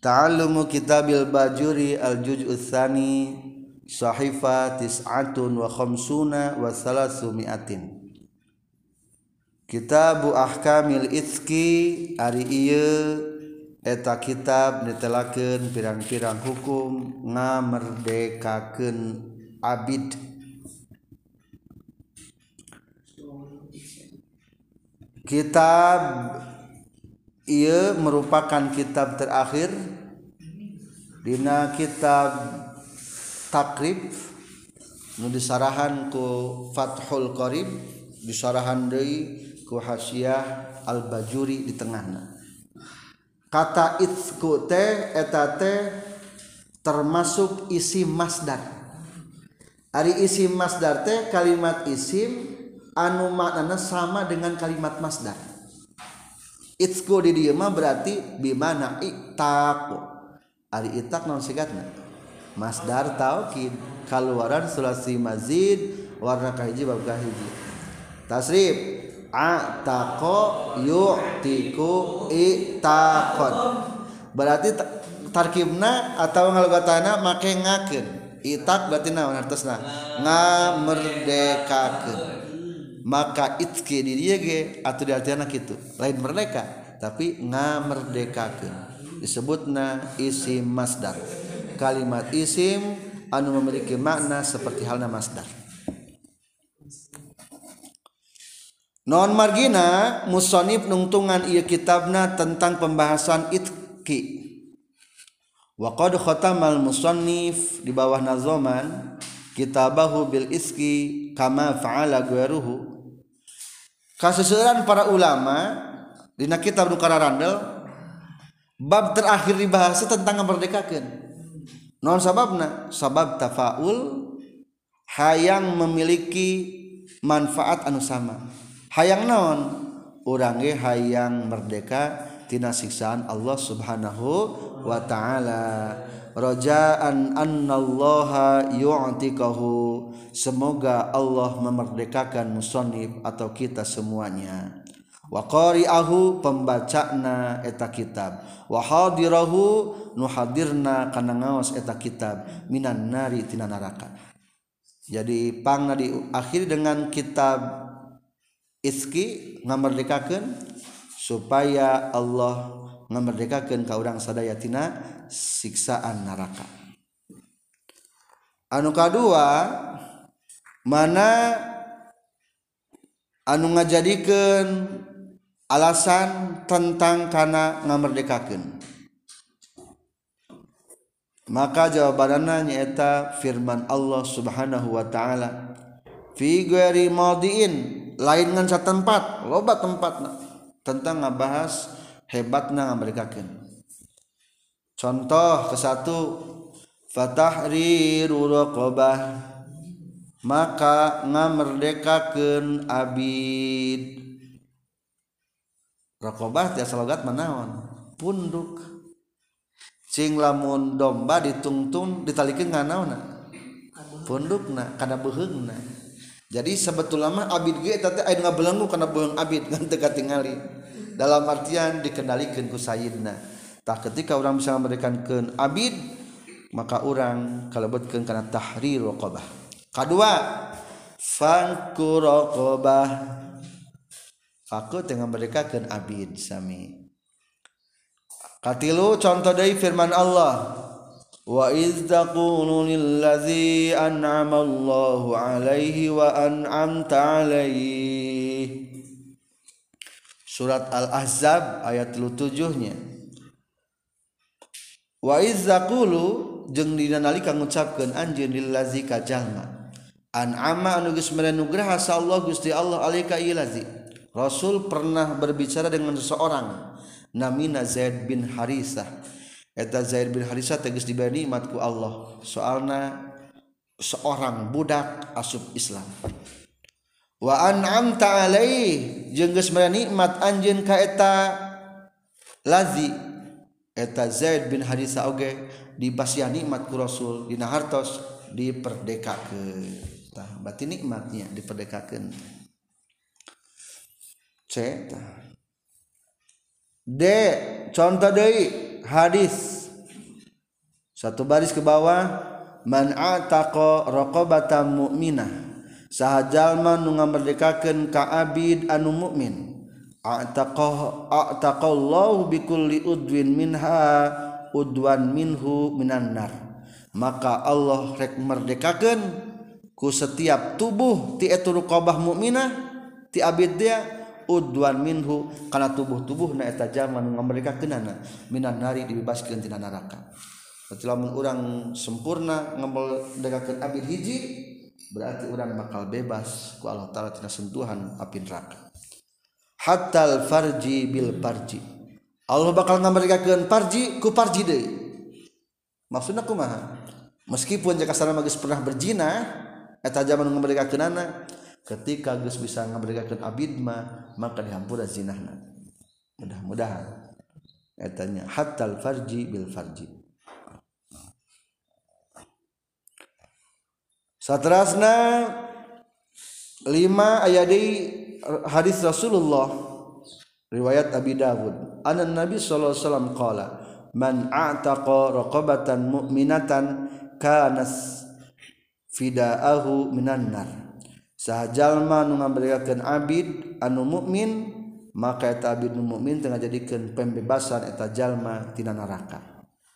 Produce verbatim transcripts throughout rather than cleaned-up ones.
Ta'allumu kitabil Bajuri al-juz'u tsani sahifa tis'atun wa khamsuna wa salasu mi'atin. Kitabu ahkamil itski ari ieu eta kitab netelakeun pirang-pirang hukum ngamerdekakeun abid. Kitab ieu merupakan kitab terakhir dina kitab takrib nu disarahan ku Fathul Qarib, disarahan deui ku Hasyiah Al-Bajuri di tengahna. Kata itsku teh eta teh termasuk isim masdar. Ari isim masdar teh kalimat isim anu maknana sama dengan kalimat masdar. Itsku di dieu mah berarti bimana ittaqu. Ari ittaq naon sigatna? Masdar taukid kaluaran sulasi mazid warna kahiji bab kahiji. Tasrif ataqo yu'tiku itaqon. Berarti tarkibna atau ngalogatana make ngakeun. Itaq berarti naon artosna? Ngamerdekakeun. Maka itki di dieu ge atuh diartiana kitu. Lain merdeka, tapi ngamerdekakeun. Disebutna isim masdar. Kalimat isim anu memiliki makna seperti halna masdar. Non margina musannif nungtungan ieu kitabna tentang pembahasan itki. Wa qad khatamal musannif di bawah nazoman kitabahu bil iski kama fa'ala ghairuhu. Kaseseueuran para ulama dina kitab nu kararandel bab terakhir dibahas tentang ngamerdekakeun. Naon sababna? Sabab tafaul hayang memiliki manfaat anu sama. Hayang naon? Urang ge hayang merdeka tina siksaan Allah Subhanahu wa taala. Rajaan annallaha yu'tikahu, semoga Allah memerdekakan musannif atau kita semuanya. Wa qari'ahu, pembacana eta kitab. Wa hadirahu, nu hadirna kana ngaos eta kitab minan nari tina neraka. Jadi pangna diakhiri dengan kitab iski ngamerdekakeun supaya Allah ngamerdekakeun ka urang sadaya tina siksaan neraka. Anu kadua, mana anu ngajadikeun alasan tentang kana ngamerdekakeun. Maka jawabanna nyaeta firman Allah Subhanahu wa taala, fi ghairi madiin, lain ngan satempat, loba tempatna tentang ngabahas hebatna ngamerdekakeun. Contoh ke satu, fatahriru raqabah, maka ngamerdekakeun abid. Raqabah tiasa logat manaon? Punduk. Cing lamun domba ditungtung ditalikeun nganaonna? Pundukna kana beuheungna. Jadi sebetulnya mah abid ge eta teh aya nu ngabelenggu kana beuheung abid ngan teu katingali. Dalam artian dikendalikeun ku sayyidna. Tah ketika urang bisa ngamerdekakeun abid, maka urang kalebetkeun kana tahrir raqabah. Kadua, fanku raqabah, faku teh ngamerdekakeun abid sami. Katilu contoh deui firman Allah, wa iz taqulu lil ladzi an'ama Allahu 'alaihi wa an'amta 'alaihi. Surat Al-Ahzab ayat tilu puluh tujuh nya. Wa iz taqulu jeung dina nalika ngucapkeun anjeun lil ladzi ka jalma an'ama anu geus mere nugraha sa Allah Gusti Allah alaika ieu ladzi. Rasul pernah berbicara dengan seseorang namina Zaid bin Harisah. Eta Zaid bin Harisah tegas diberi nikmat ku Allah. Soalna seorang budak asup Islam. Wa an'amta alaihi, jeung geus mere nikmat anjeun ka eta lazi. Eta Zaid bin Harisah oge dibasiah nikmat ku Rasul dina hartos diperdekakeun. Tah berarti nikmatnya diperdekakeun. C. D. Contoh deui hadis Satu baris ke bawah, man ataqa raqabatan mu'minah, saha jalma nu ngamerdekakeun ka abid anu mukmin, ataqah ataqallahu bikulli udwin minha udwan minhu minan nar, maka Allah rek merdekakeun ku setiap tubuh ti etu raqabah mukminah ti abid dia udwan minhu kana tubuh-tubuhna eta jalma nu ngamerdekakeunana minan nari dibebaskeun tina neraka. Berarti lamun urang sempurna ngamerdekakeun abid hiji berarti urang bakal bebas ku Allah taala tina sentuhan api neraka. Hatal farji bil farji, Allah bakal ngamerdekakeun farji ku farji deui. Maksudna kumaha? Meskipun jika sareng geus pernah berzina eta zaman ngamerdekakeunana, ketika geus bisa ngamerdekakeun abid mah maka dihampura zinahna. Mudah-mudahan etanya hatal farji bil farji. Saterasna lima aya deui hadis Rasulullah riwayat Abi Dawud, anna Nabi sallallahu alaihi wasallam qala man a'taqa raqabatan mu'minatan kanas fidaahu minan nar, saha jalma nu ngaberiakeun abid anu mukmin maka eta abid nu mukmin teu ngajadikeun pembebasan eta jalma tina neraka.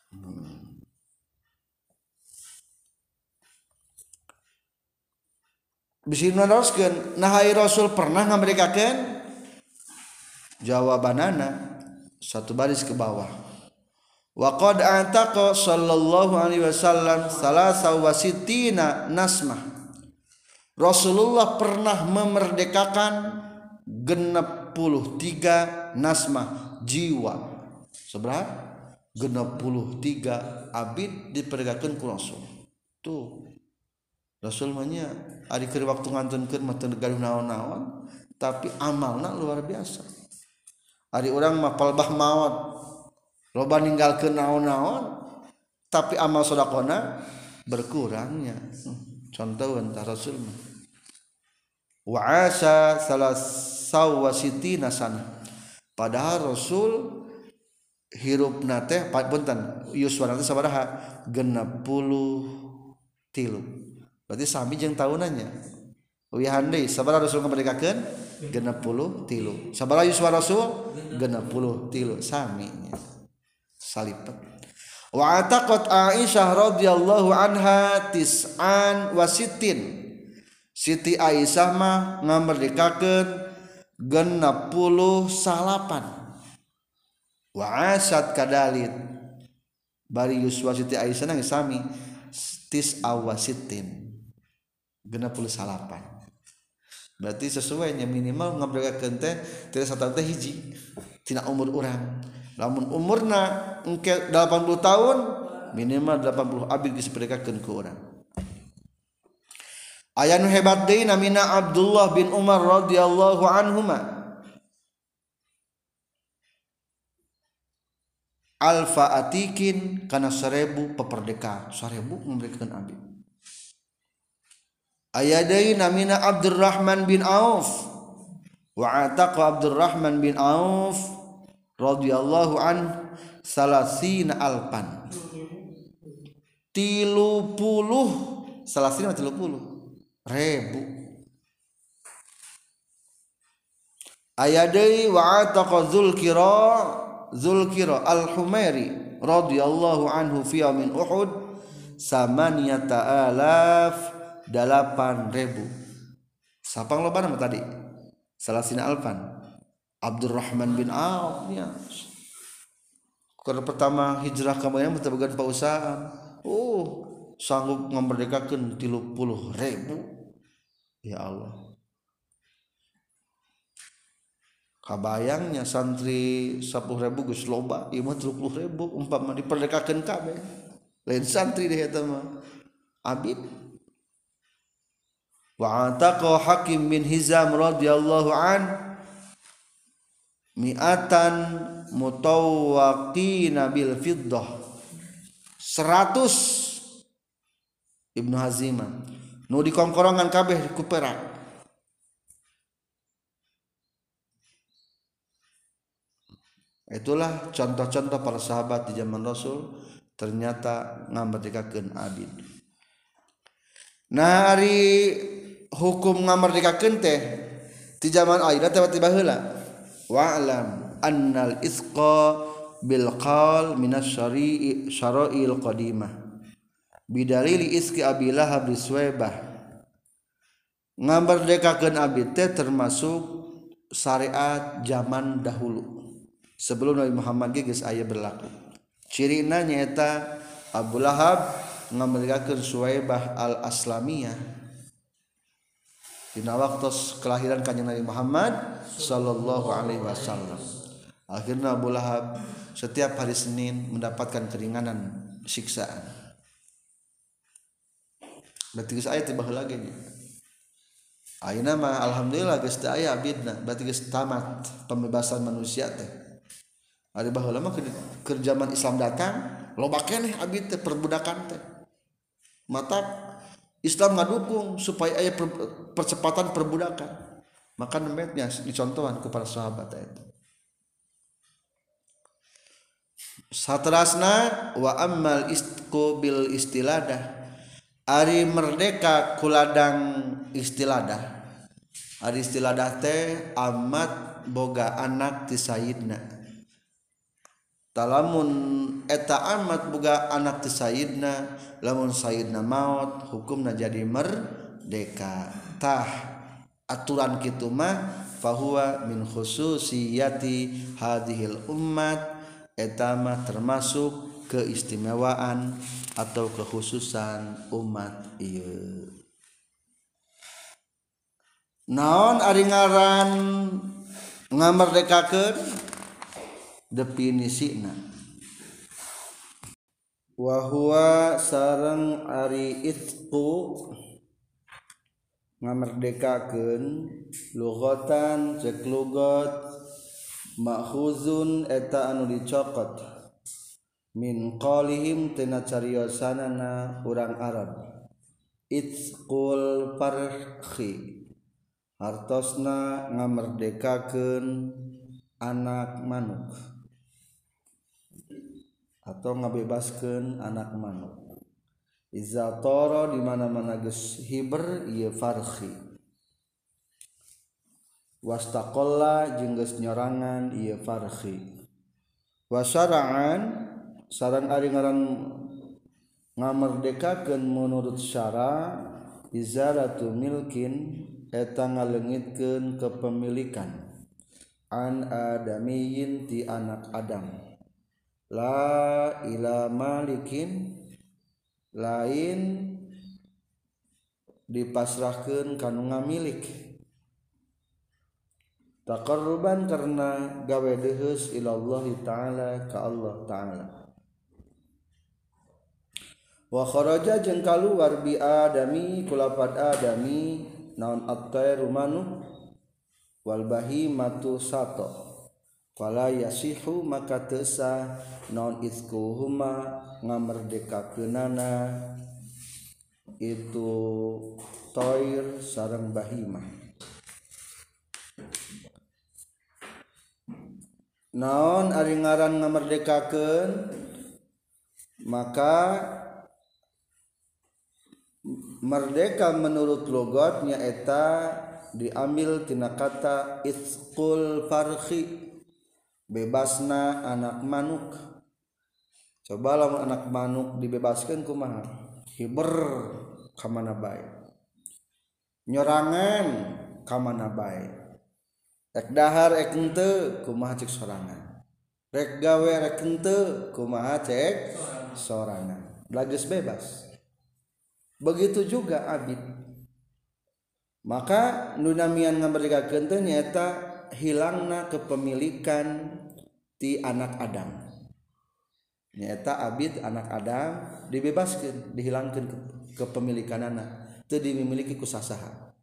Bisi naroskeun nahai Rasul pernah ngaberiakeun, jawabanana satu baris ke bawah, wa qad antaqa sallallahu alaihi wasallam salasa wa sittina nasmah, Rasulullah pernah memerdekakan genep puluh tiga nasmah jiwa. Seberapa? Genep puluh tiga abid diperdekakeun ku Rasul. Tuh Rasul manya ari keur waktu ngantunkeun mah teu gaduh naon-naon, tapi amalna luar biasa. Ari urang mah palbah maot loba ninggalkeun naon-naon tapi amal sedekahna berkurangnya. Contoh antara Rasul mah wa asa salasaw wasitina sana, padahal Rasul hirupna teh punten yuswana teh sabaraha genep puluh tilu, berarti sami jeung tahunannya. Wihan deui sabaraha Rasul ngaberdekakeun genep puluh tilu, sabaraha yuswa Rasul genep puluh tilu, sami nya salipet. Wa ataqat Aisyah radhiyallahu anha tis'an wa sittin, Siti Aisyah mah ngamerdekakeun genep puluh salapan. Wa asat kadalit bari yuswa Siti Aisyah nang sami tis'a wa sittin, genep puluh salapan. Berarti sesuai nya minimal ngaberdekakeun teh teu sataun teh hiji tina umur urang. Lamun umurna engke delapan puluh tahun minimal delapan puluh abid geus diperdekakeun ku urang. Aya nu hebat deui namina Abdullah bin Umar radhiyallahu anhuma, alfa atikin kana seribu peperdeka, seribu memberikan abid. Aya deui namina Abdurrahman bin Auf, wa ataqa Abdurrahman bin Auf radhiyallahu an salasina alpan, tilu puluh salasina tilu puluh ribu. Aya deui wa ataqa Zulkira Zulkira al-Humairi radhiyallahu anhu fi yaumin Uhud samaniyata alaf delapan ribu. Sapang lobana mah tadi salasina alfan Abdurrahman bin Auf nya. Karena pertama hijrah ka Madinah teh boga pausahaan. Oh, sanggup ngamerdekakeun tilu puluh ribu. Ya Allah. Kabayangnya santri sepuluh ribu geus loba, ieu mah tilu puluh ribu umpama diperdekakeun kabeh. Lain santri deh eta mah. Abid. Wa ataqa Hakim bin Hizam radhiyallahu an mi'atan mutawaqina bil fiddah, seratus Ibnu Hazimah nu dikongkorongan kabeh ku perak. Itulah contoh-contoh para sahabat di zaman Rasul ternyata ngamerdekakeun abid. Nah ari hukum ngamerdekakeun teh ti zaman ayeuna teh tiba heula. Wa'lam annal isqa bil qaul minas syari'i syara'il qadimah bidalili iski Abi Lahab biswaybah. Ngamerdekakeun abid teh termasuk syariat zaman dahulu sebelum Nabi Muhammad geus aya berlaku. Cirina nyaeta Abu Lahab ngamerdekakeun Suwaybah al-Aslamiyah dina waktos kelahiran kanjeng Nabi Muhammad sallallahu alaihi wasallam. Akhirnya Abu Lahab setiap hari Senin mendapatkan keringanan siksaan. Berarti geus aya tiba heula ge. Ayeuna mah alhamdulillah geus teu aya abidna, berarti geus tamat pembebasan manusia teh. Ari baheula mah keur zaman Islam datang, loba keneh abid teh perbudakan teh. Mata Islam ngadukung supaya aya per, percepatan perbudakan. Maka nemetnya dicontohan ku para sahabat eta. Saterasna wa ammal istqu bil istiladah. Ari merdeka kuladang istiladah. Ari istiladah teh amat boga anak ti sayidna. Talamun eta amat boga anak ti sayidna, lamun sayidna maut hukumna jadi merdeka. Tah aturan kitu mah fahuwa min khususiyati hadhil ummat, eta mah termasuk keistimewaan atau kekhususan umat ieu. Naon ari ngaran ngamerdekakeun definisina? Wa huwa sareng ari itqu ngamerdekakeun lughatan cek lugat makhuzun eta anu dicokot min qalihim tina cariosanana urang Arab. Itqul farhi hartosna ngamerdekakeun anak manuk atau ngabebaskeun anak manuk. Iza tara di mana-mana geus hiber ieu farhi. Wastaqalla jeung geus nyorangan ieu farhi. Wasara'an sareng ari ngaran ngamerdekakeun menurut syara izaratu milkin eta ngaleungitkeun kepemilikan an adamiyin ti anak Adam la ila malikin lain dipasrahkeun kanu ngamilik taqarruban karena gawe deheus ilallah taala ka Allah taala. Wa kharaja jeung kaluar bi adami kulapad adami naon at-tayru manuk wal bahimatu sato fala yasihu maka teu sah naon izkuhuma ngamerdekakeunana itu toir sareng bahimah. Naon ari ngaran ngamerdekakeun maka merdeka menurut logatnya eta diambil tina kata itqul farhi bebasna anak manuk. Coba lamun anak manuk dibebaskeun kumaha? Hiber ka mana bae. Nyorangan ka mana bae. Rek dahar rek henteu kumaha cek sorangan. Rek gawe rek henteu kumaha cek sorangan. Lageus bebas. Begitu juga abid. Maka nu namian ngamerdekakeun teh nyaeta hilangna kepemilikan ti anak Adam. Nyaeta abid anak Adam dibebaskeun, dihilangkeun kepemilikanana, teu dimiliki ku sasaha.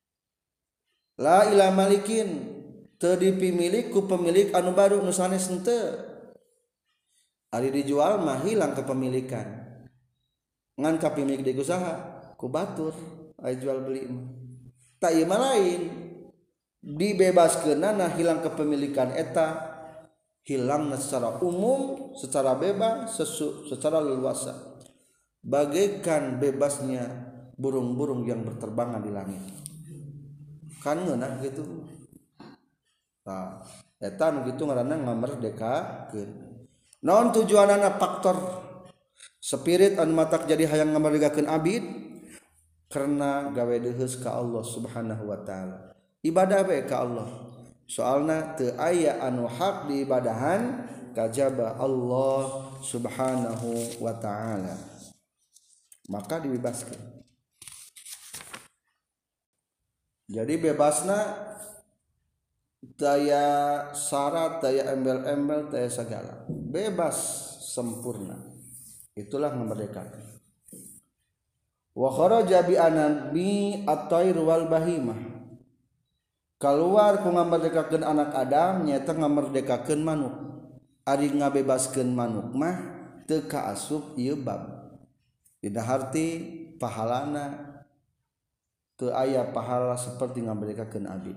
La ila malikin, teu dipimilik ku pemilik anu baru nu sanes henteu. Ari dijual mah hilang kepemilikan. Ngan kapimilik di usaha ku batur aya jual beli mah tak ieu mah lain dibebaskeunana hilang kepemilikan eta hilangna secara umum, secara bebas, sesu, secara leluasa, bagaikan bebasnya burung-burung yang berterbangan di langit. Kan ngeunah gitu. Nah, eta nu kitu ngaranna ngamerdekakeun. Naon tujuanana faktor spirit anu matak jadi hayang ngamerdekakeun abid? Karena gawe deus ka Allah Subhanahu wa taala. Ibadah bae ka Allah. Soalna teu aya anu hak diibadahan kajaba Allah Subhanahu wa taala. Maka dibebaskeun. Jadi bebasna daya syarat, daya embel-embel, daya segala. Bebas sempurna. Itulah memerdekakan. Wa kharaja bi anabi at-tayr wal bahimah. Keluar ku ngamerdekakeun anak Adam nyaeta ngamerdekakeun manuk. Ari ngabebaskeun manuk mah teu kaasup ieu bab. Dina harti pahalana teu aya pahala seperti ngamerdekakeun abid.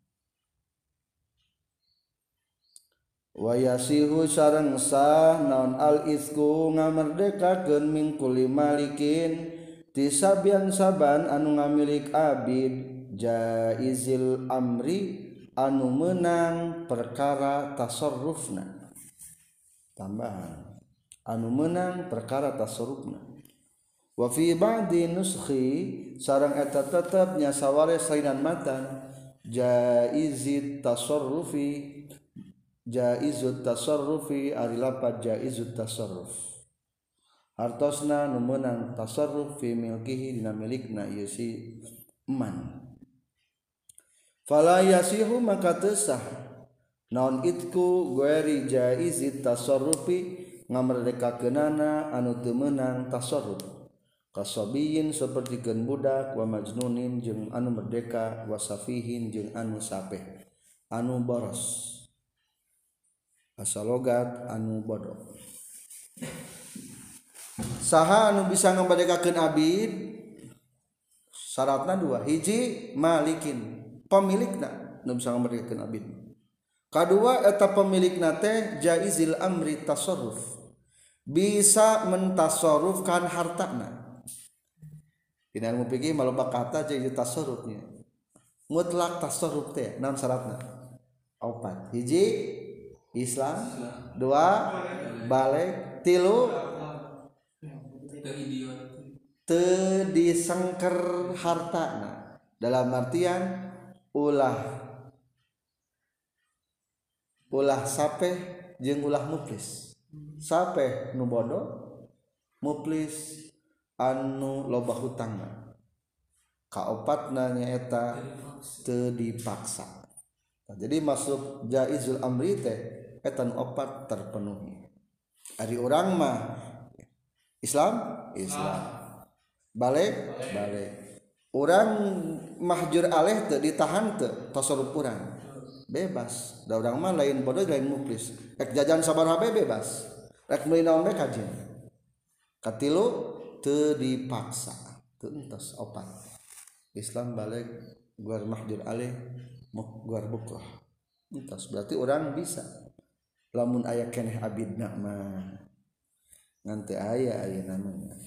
Wa yasihu sareng sah naon al isku ngamerdekakeun min kulli malikin tisabian saban anu ngamilik abid jaizil amri anu menang perkara tasarrufna. Tambahan anu menang perkara tasarrufna. Wa fi ba'di nuskhi sareng eta tetep nya saware salinan matan jaizit tasarrufi jaizut tasarrufi ari lapat jaizut tasarruf hartosna nu meunang tasarruf fi milkihi dina milikna ieu si eman. Fala yasihu maka teu sah naon itku gueri jaizit tasarrufi ngamerdekakeunana anu teu meunang tasarruf kasabiyin sapertikeun budak wa majnunin jeung anu merdeka wa safihin jeung anu sapeh anu boros asalogat anu bodoh. Saha anu bisa ngamerdekakeun abid? Syaratna dua. Hiji malikin, pemilikna nu bisa ngamerdekakeun abid. Kadua eta pemilikna teh jaizil amri tasarruf. Bisa mentasarrufkan hartana. Dina ilmu fikih maloba kata jaiz tasarrufnya. Mutlak tasarruf teh naon syaratna? Opat. Hiji Islam, dua balik, tilu teu disengker hartana dalam artian ulah ulah sapeh jeung ulah muflis. Sapeh nu bodoh, muflis anu loba hutangna. Kaopatna nyaeta teu dipaksa. Nah, jadi masuk jaizul amri teh eta nu opat terpenuhi. Ari urang mah Islam, Islam. Balik, balik. Urang mahjur aleh teu ditahan teu tasarruf urang. Bebas. Da urang mah lain bodoh lain muflis. Rek jajan sabaraha bae bebas. Rek meuli naon bae kajin. Katilu teu dipaksa. Teu entos opat. Islam balik guar mahjur aleh guar bukrah. Entos berarti orang bisa. Lamun aya keneh abidna mah ngan teu aya aya namanya.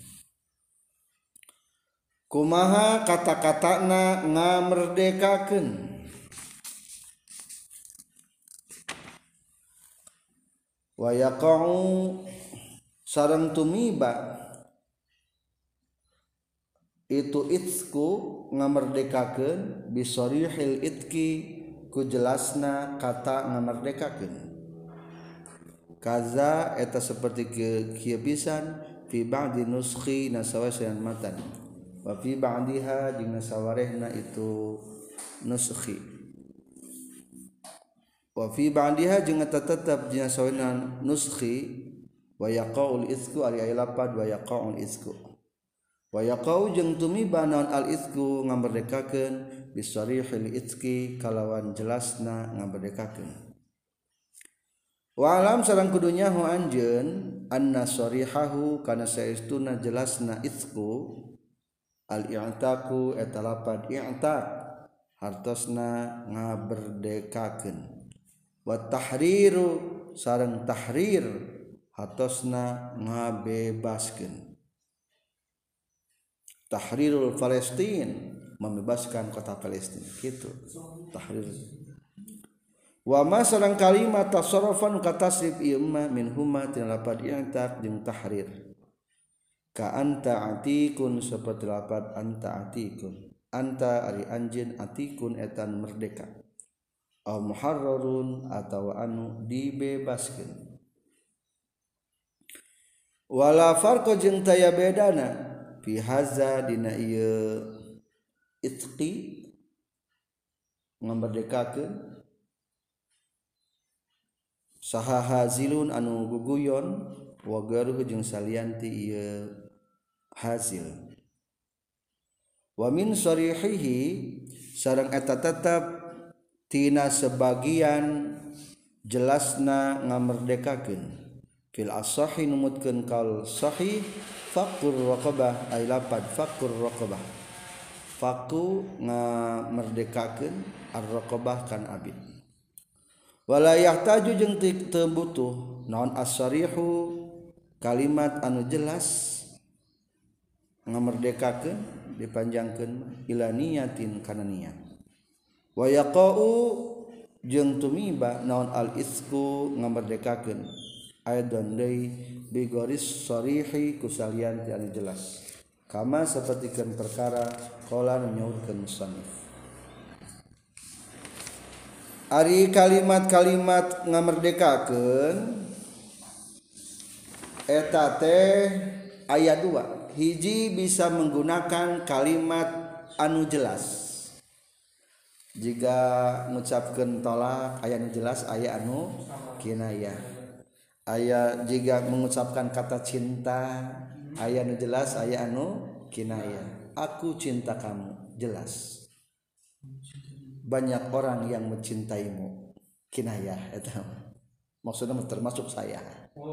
Kumaha kata-katana ngamerdekakeun? Wa yaqa'u sareng tumiba itu itsku ngamerdekakeun bisorihil itki ku jelasna kata ngamerdekakeun. Kaza eta seperti kieu pisan fi ba'di nuskhi nasawasan matan wa fi ba'diha jeung nasawarehna itu nuskhi wa fi ba'diha jeung eta tetep jeung nasawarehna nuskhi wa yaqaul itsku ari aya lapad wa yaqaul itsku wa yaqau jeung tumiba naon al itsku ngamerdekakeun bisarihil itski kalawan jelasna ngamerdekakeun. Wa alam sareng kudunya hu anjeun anna sarihahu kana saestuna jelasna itsku al i'taku eta lapad i'taq hartosna ngaberdekakeun wa tahriru sareng tahrir hatosna ngabebaskeun. Tahrirul Palestin membebaskan kota Palestina gitu tahrir. Wa ma sareng kalimat tasarrufan ka tasrif ieu mah min huma tina lapad i'taq jeung tahrir. Ka anta atikun saperti lapad anta atikun. Anta ari anjeun atikun etan merdeka. Au muharrarun atawa anu dibebaskeun. Wala farqa jeung taya bedana fi haza dina ieu itqi ngamerdekakeun saha hazilun anu guguyon wa garuh jeung salianti ieu hasil. Wa min sarihihi sareng eta tetep tina sebagian jelasna ngamerdekakeun fil asahi numutkeun kaul sahih faqur raqabah ay lapad faqur raqabah faku ngamerdekakeun ar-raqabah kan abid. Wala yahtaju jeung teu butuh naon as-sarihu kalimat anu jelas ngamerdekakeun dipanjangkeun ila niyatin kana niat. Wa yaqau jeung tumiba naon al-isku ngamerdekakeun aidan deui bi gharis sarihi kusalian ti anu jelas kama sapertikeun perkara qala nyaurkeun musannif. Ari kalimat-kalimat ngamerdekakeun eta teh aya dua. Hiji bisa menggunakan kalimat anu jelas. Jika mengucapkan tolak aya anu jelas aya anu kinayah. Aya jika mengucapkan kata cinta aya anu jelas aya anu kinayah. Aku cinta kamu jelas. Banyak orang yang mencintaimu kinayah eta. Maksudnya termasuk saya.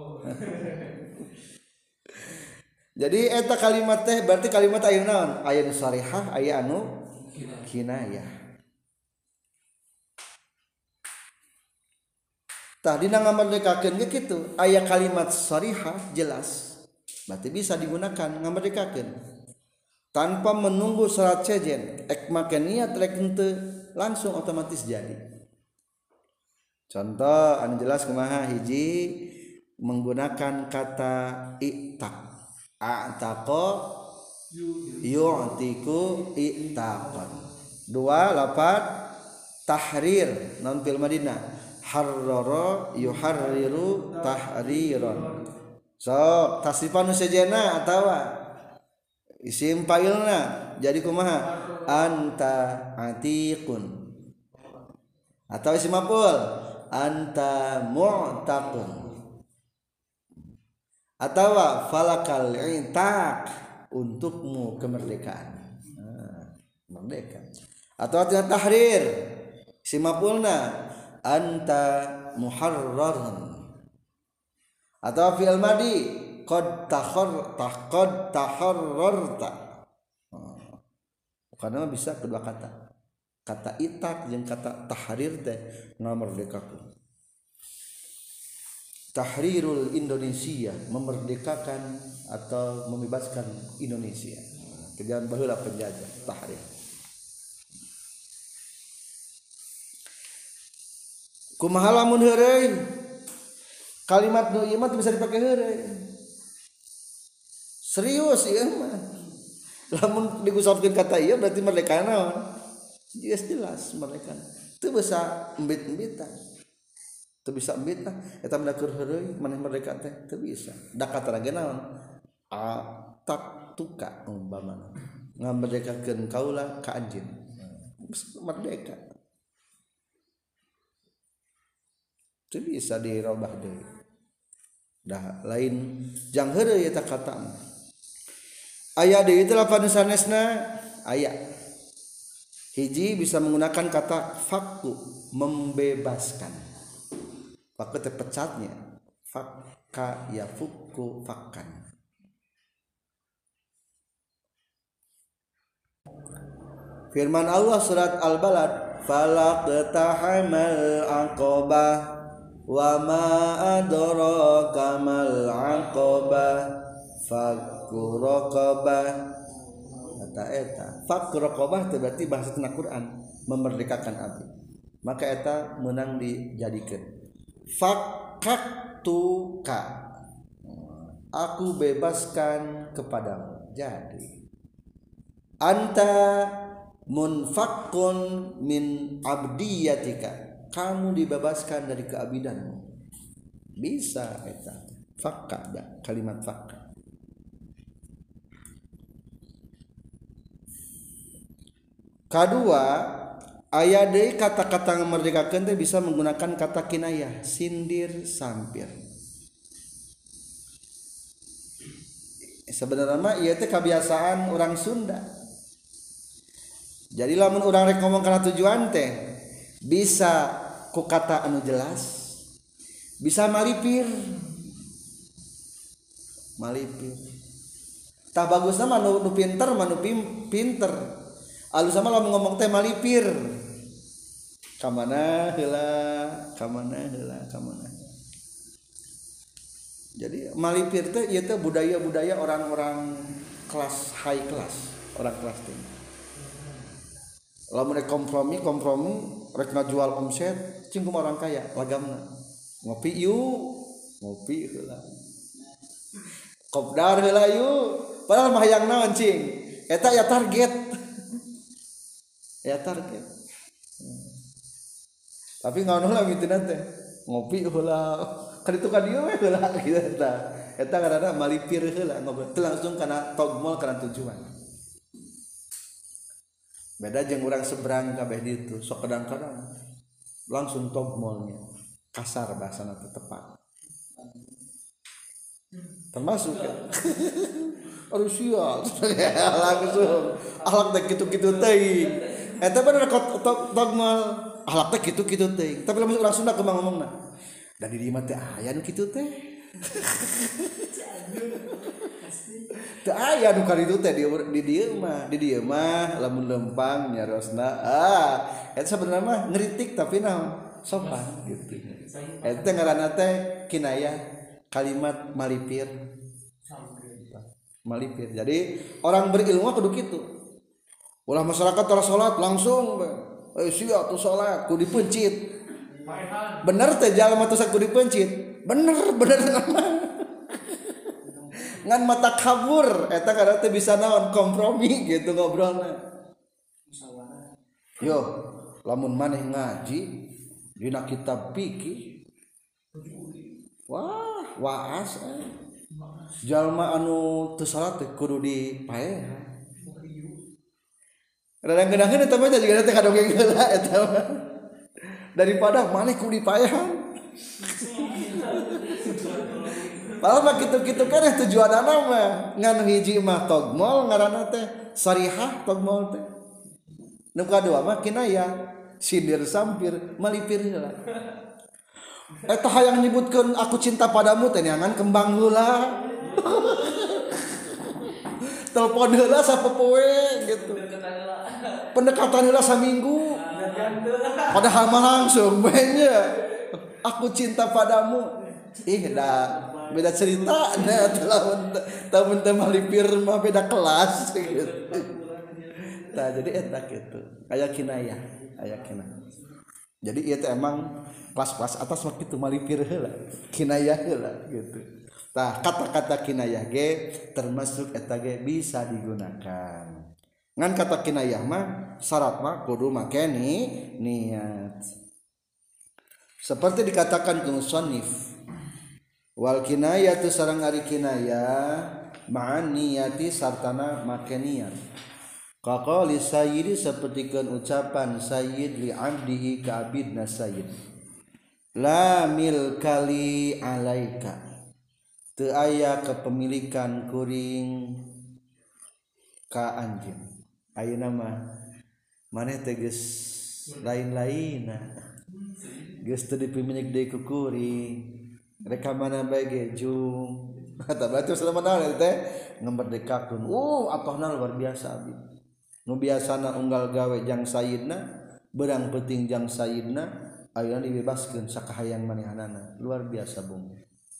Jadi eta kalimat teh berarti kalimat aya naon? Aya nu sarihah, aya anu kinayah. Tah dina ngamerdekakeun ge kitu, aya kalimat sarihah jelas. Berarti bisa digunakan ngamerdekakeun. Tanpa menunggu syarat sejen, ek make niat rek henteu langsung otomatis jadi. Contoh anu jelas kumaha hiji menggunakan kata i'taq. A'taqa yu'tiku i'taqan. Dua lafaz tahrir non fil madinah harrara yuharriru tahriran. So tasrifan sejena atawa isim fa'ilna jadi kumaha anta atiqun atau isim maf'ul anta mu'taqun atau falakal i'taq untukmu kemerdekaan. Nah, merdeka. Atau artinya tahrir isim maf'ulna anta muharrarun atau fi'il madi qad takhar taqad taharrarta. Karena bisa kedua kata kata itaq jeung kata tahrir teh ngamerdekakeun. Tahrirul Indonesia memerdekakan atau membebaskan Indonesia. Kejangan baheula penjajah tahrir. Kumaha lamun heureuy? Kalimat nu ieu mah bisa dipake heureuy. Serius ieu mah. Lamun digusapkeun kata ieu berarti merdeka naon? Jelas jelas merdeka. Teu bisa embit-embitan. Teu bisa embit tah eta mah keur heureuy maneh merdeka teh teu bisa. Da kata ge naon? A tak tuka umpamana. Ngamerdekakeun kaula ka anjeun. Merdeka. Teu bisa dirobah deui. Dah lain jang heureuy eta kata mah. Aya deui teh lafaz sanesna aya. Hiji bisa menggunakan kata fakku membebaskan. Fakku teh pecatnya. Fakka ya fukku fakkan. Firman Allah surat Al-Balad falaqtahamal aqabah wa ma adraka mal aqabah fakku raqabah eta eta fakku raqabah teh berarti bahasa tengah Quran memerdekakan abdi maka eta menang dijadikeun fakaktuka aku bebaskan kepadamu jadi anta munfakkun min abdiyatika kamu dibebaskan dari keabidanmu bisa eta fakka da kalimat fakka kedua aya deui kata-kata memerdekakeun teh bisa menggunakan kata kinayah sindir sampir sebenarnya mah ieu teh kebiasaan orang Sunda jadi lamun urang rek ngomong kana tujuan teh bisa ku kata anu jelas bisa malipir malipir tah bagusna mah nu pinter mah nu pinter alus sama lamun ngomong teh malipir ka mana heula ka mana heula ka mana jadi malipir teh ieu teh budaya-budaya orang-orang kelas high class orang kelas tinggi lamun kompromi kompromi rek ngajual omset cing kumaha orang kaya lagamna ngopi yuk ngopi heula kopdar heula yuk padahal mah hayang naon cing eta ya target ya target tapi ngaon heula mitina teh ngopi heula kaditu ka dieu we heula kitu eta eta ngaranna malipir heula ngobrol teu langsung kana togmol kana tujuan beda jeung urang seberang kabeh ditu sok kadang-kadang langsung togmolnya kasar bahasana teh tepat termasuk ya harus sia langsung akhlak teh kitu-kitu teuing eta bener togmol akhlak teh kitu-kitu teuing tapi lamun urang Sunda kumaha ngomongna da di dieu mah teh aya nu kitu teh teu aya nu kaditu teh di dieu mah di dieu mah lamun lempang nyarosna ah eta sebenarnya mah ngeritik tapi naon sopan gitu eta ngaranna teh kinayah kalimat malipir malipir jadi orang berilmu kudu kitu ulah masyarakat tara salat langsung eh sia tuh salat kudu dipencit bener teh jalma tuh kudu dipencit bener bener ngan mata kabur eta karena teh bisa naon kompromi gitu ngobrolna yo lamun maneh ngaji dina kitab fikih wah waas eh. Jalma anu teu salat teh kudu dipaehan kadang-kadang eta mah juga teh kadongeng heula eta mah daripada maneh kudu dipaehan padahal mah kitu-kitu kan tujuanna mah ngan hiji mah togmol ngaranna teh sarihah togmol teh nu kadua mah kinayah sindir sampir malipir heula eta hayang nyebutkeun aku cinta padamu teh neangan kembang heula telepon heula sapopoe gitu pendekatan heula saminggu padahal mah langsung banyak aku cinta padamu ih dah beda cerita nah tahun teh malipir mah beda kelas gitu tah jadi eta kitu aya kinayah aya kinayah jadi ieu teh emang kelas-kelas atas mah kitu malipir heula kinayah heula gitu tah kata-kata kinayah ge termasuk eta ge bisa digunakan ngan kata kinayah mah syarat mah kudu make ni niat seperti dikatakan ke musannif wal kinayatu sareng ari kinayah ma'an niyati sartana make niat qaqali sayyidi sapertikeun ucapan sayyid li 'abdihi ka abidna sayyid la milkali alaika teu aya kepemilikan kuring ka anjeun ayeuna mah maneh teh geus lain-lainna geus teu dipimilik deui ku kuring reka mana bae ge jung eta berarti selama naon teh ngamerdekakeun uh apahna luar biasa abdi nu biasana unggal gawe jang sayyidna berang penting jang sayyidna ayeuna dibebaskeun sakahayang manehanana luar biasa bung.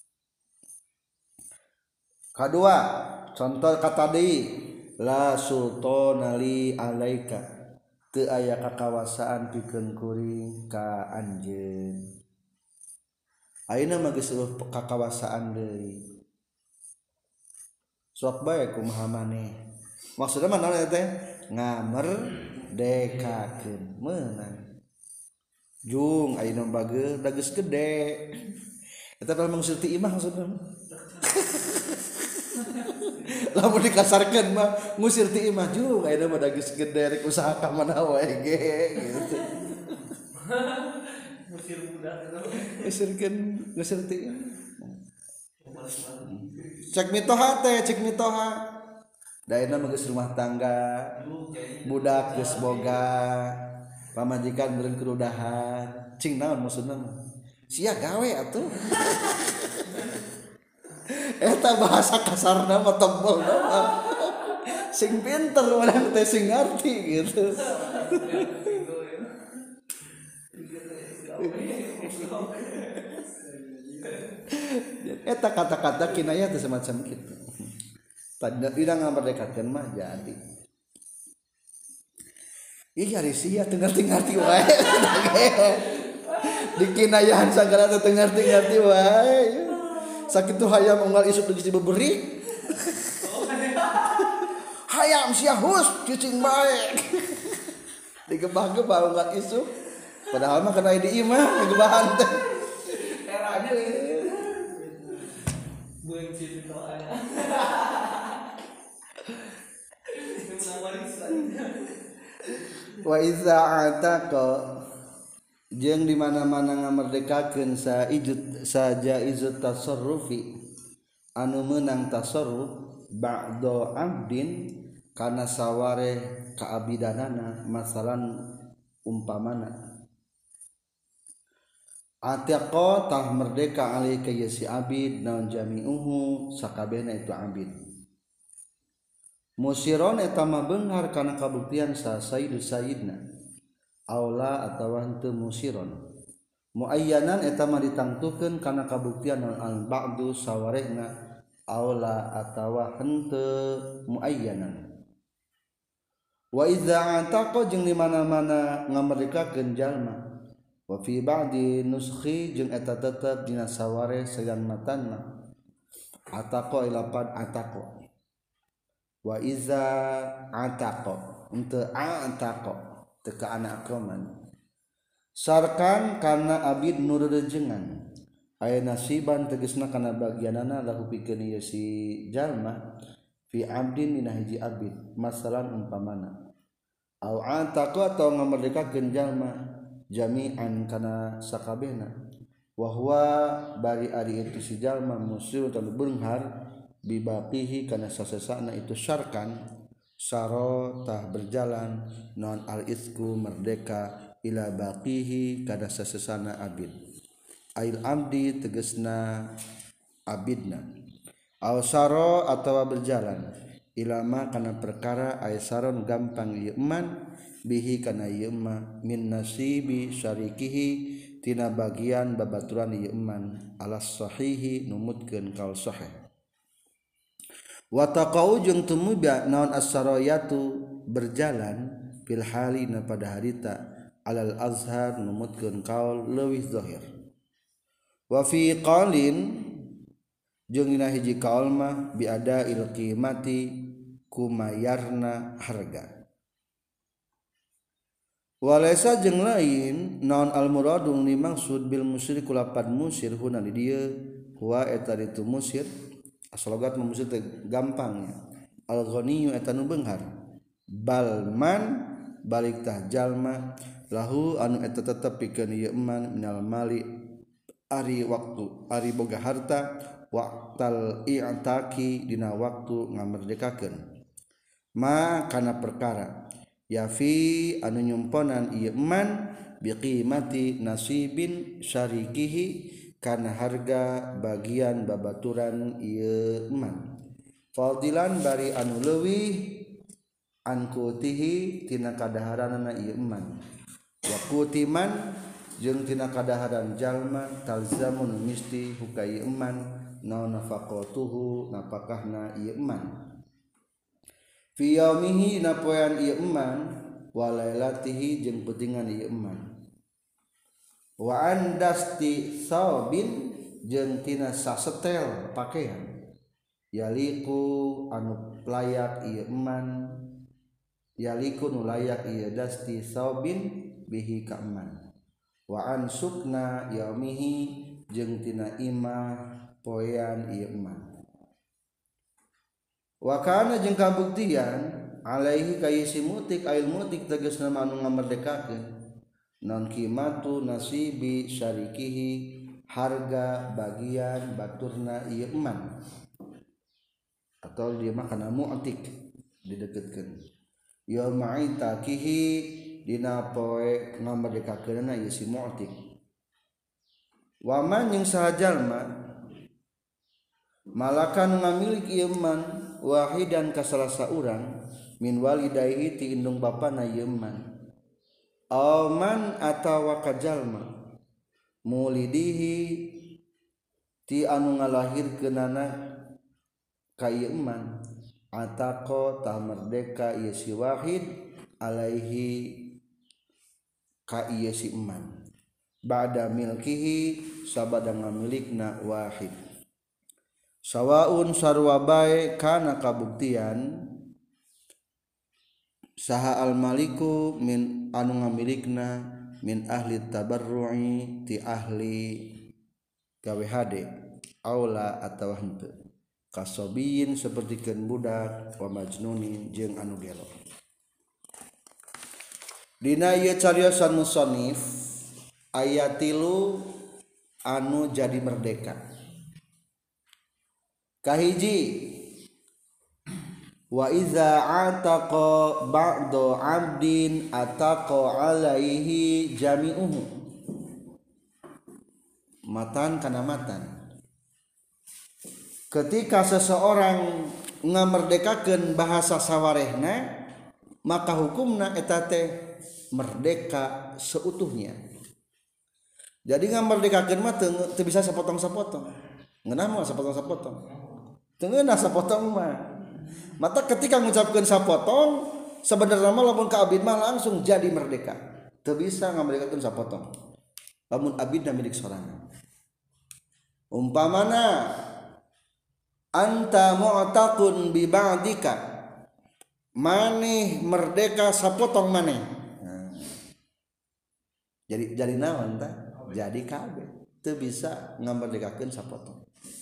Kadua contoh kata deui la sultana li alaika teu aya kakawasaan pikeun kuring ka anjeun. Ayeuna mah geus eueuh kakawasaan deui. Sok bae kumaha maneh. Maksudna mah naon eta teh? Ngamerdekakeun meunang. Jung ayeuna bageur da geus gede. Eta teh mangsul ti imah maksudna. Lamun dikasarkeun mah ngusir ti imah jung ayeuna mah da geus gede rek usaha ka mana wae ge gitu. Ngusir budak eta. Ngusirkeun ngusir ti imah. Cek mitoha teh cek mitoha. Da ayeuna mah geus rumah tangga. Budak geus boga. Pamajikan beureun kerudahan. Cing naon maksudna mah? Sia gawe atuh. Eta bahasa kasarna mah tebel mah. Sing pinter urang teh sing ngarti gitu. Eta kata-kata kinayah teh semacam kitu. Tanda tidak ngamerdekakeun mah jadi. Ih ari sia teu ngarti-ngarti wae. Dikinayahan sagala teu ngarti-ngarti wae. Sakitu hayam unggal isuk geus dibeberi. Hayam sia hus cicing bae. Digebah-gebah unggal isuk. Padahal mah kana di imah digebahan teh. Era deui. Bueng citu aya. Wa iza ataqa jeung di mana-mana ngamerdekakeun sa ijut saja izut tasarrufi anu meunang tasarruf ba'da abdin kana saware kaabidanana masalan umpamana ataqa tah merdeka alika ya si abid naon jami'uhu sakabehna itu abid musiron eta mah beunghar kana kabuktian sa sayyidu sayyidna aula atawa henteu musiron muayyanan eta mah ditangtukeun kana kabuktian al ba'du sawarehna aula atawa henteu muayyanan wa idza ataqa jeung di mana-mana ngamerdekakeun jalma wa fi ba'di nuskhi jeung eta tetep dina sawareh sayan matanna ataqa ilapad ataqa wa iza ataqa henteu ataqa teka anak akroman sarkan kana abid nurejengan aya nasiban tegasna kana bagianana lahu pikeun ieu si jalma fi abdin dina hiji abid masalan umpamana au ataqa atau ngamerdekakeun jalma jami'an kana sakabehna wa huwa bari ari itu si jalma musyur tanu beunghar bibaqihi kana sasesana itu syarkan saro tah berjalan non al isku merdeka ila baqihi kada sasesana abid ail abdi tegasna abidna aw saro atawa berjalan ilama kana perkara ay saron gampang ieu man bihi kana ieu ma min nasibi syarikihi tina bagian babaturan ieu man alas sahihi numutkeun kaul sahih wa taqau jeung tumuba naon as-sarayatu berjalan fil halina pada harita alal azhar numutkeun kaul leuwih zahir wa fi qalin jeung dina hiji kaul mah bi ada il qimati kumayarna harga walaysa jeung lain naon al muradun dimaksud bil musyrik kulapan musyir huna di dieu huwa eta ditu musyir asalogat musir teh gampangnya al ghaniyyu eta nu beunghar balman balik tah jalma lahu anu eta tetep pikeun ieu man minal mali ari waktu ari boga harta waqtal i'taqi dina waktu ngamerdekakeun ma kana perkara yafi anu nyumponan ieu man biqimati nasibin syarikihi kana harga bagian babaturan ieu man fadilan bari anu leuwih an kutihi tina kadaharanna ieu man wa kutiman jeung tina kadaharan jalma talzamun misti hukai eman naon nafaqatuhu napakahna ieu eman fi yaumihi na poean ieu eman wa lailatihi jeung peutingan ieu eman wa andasti saubin jeung tina sasetel pakaian yaliku anu layak ieu eman yaliku nu layak ieu dasti saubin bihi ka eman wa an sukna yaumihi jeung tina imah poean ieu eman wa kana jeung kabuktian alaihi ka si mutik ail mutik tegasna anu ngamerdekakeun non qimatu nasibi syarikihi harga bagian baturna ieu eman atau dia mah kana mu'tik dideketkeun ya ma'itakihi dina poe ngamerdekakeunna ieu si mu'tik wa man jeung saha jalma malakan ngamilik ieu eman wahidan ka salasa urang min walidayhi ti indung bapana ieu eman aman atawa kajalma mulidihi ti anu ngalahirkeunana ka ieu eman ataqo tah merdeka ieu si wahid alaihi ka ieu si eman ba'da milkihi sabada ngamilikna wahid sawaun sarua bae kana kabuktian saha al maliku min anu ngamilikna min ahli tabarru'i ti ahli gawe hade aula atawa henteu kasobiyin sapertikeun budak wa majnunin jeung anu gelo dina ieu cariosan musannif aya tilu anu jadi merdeka kahiji wa iza ataqa ba'du 'abdin ataqa 'alaihi jami'uhu matan kana matan ketika seseorang ngamerdekakeun bahasa sawarehna maka hukumna eta teh merdeka seutuhnya jadi ngamerdekakeun mah teu bisa sapotong-sapotong ngeunah mah sapotong-sapotong teu ngeunah sapotong mah mata ketika mengucapkan sapotong sebenarnya mah lamun ka abid mah langsung jadi merdeka teu bisa ngamerdekakeun sapotong lamun abidna milik sorangan umpamana anta mu'taqun bi ba'dika maneh merdeka sapotong maneh nah. jadi jadi naon tah jadi kabeh teu bisa ngamerdekakeun sapotong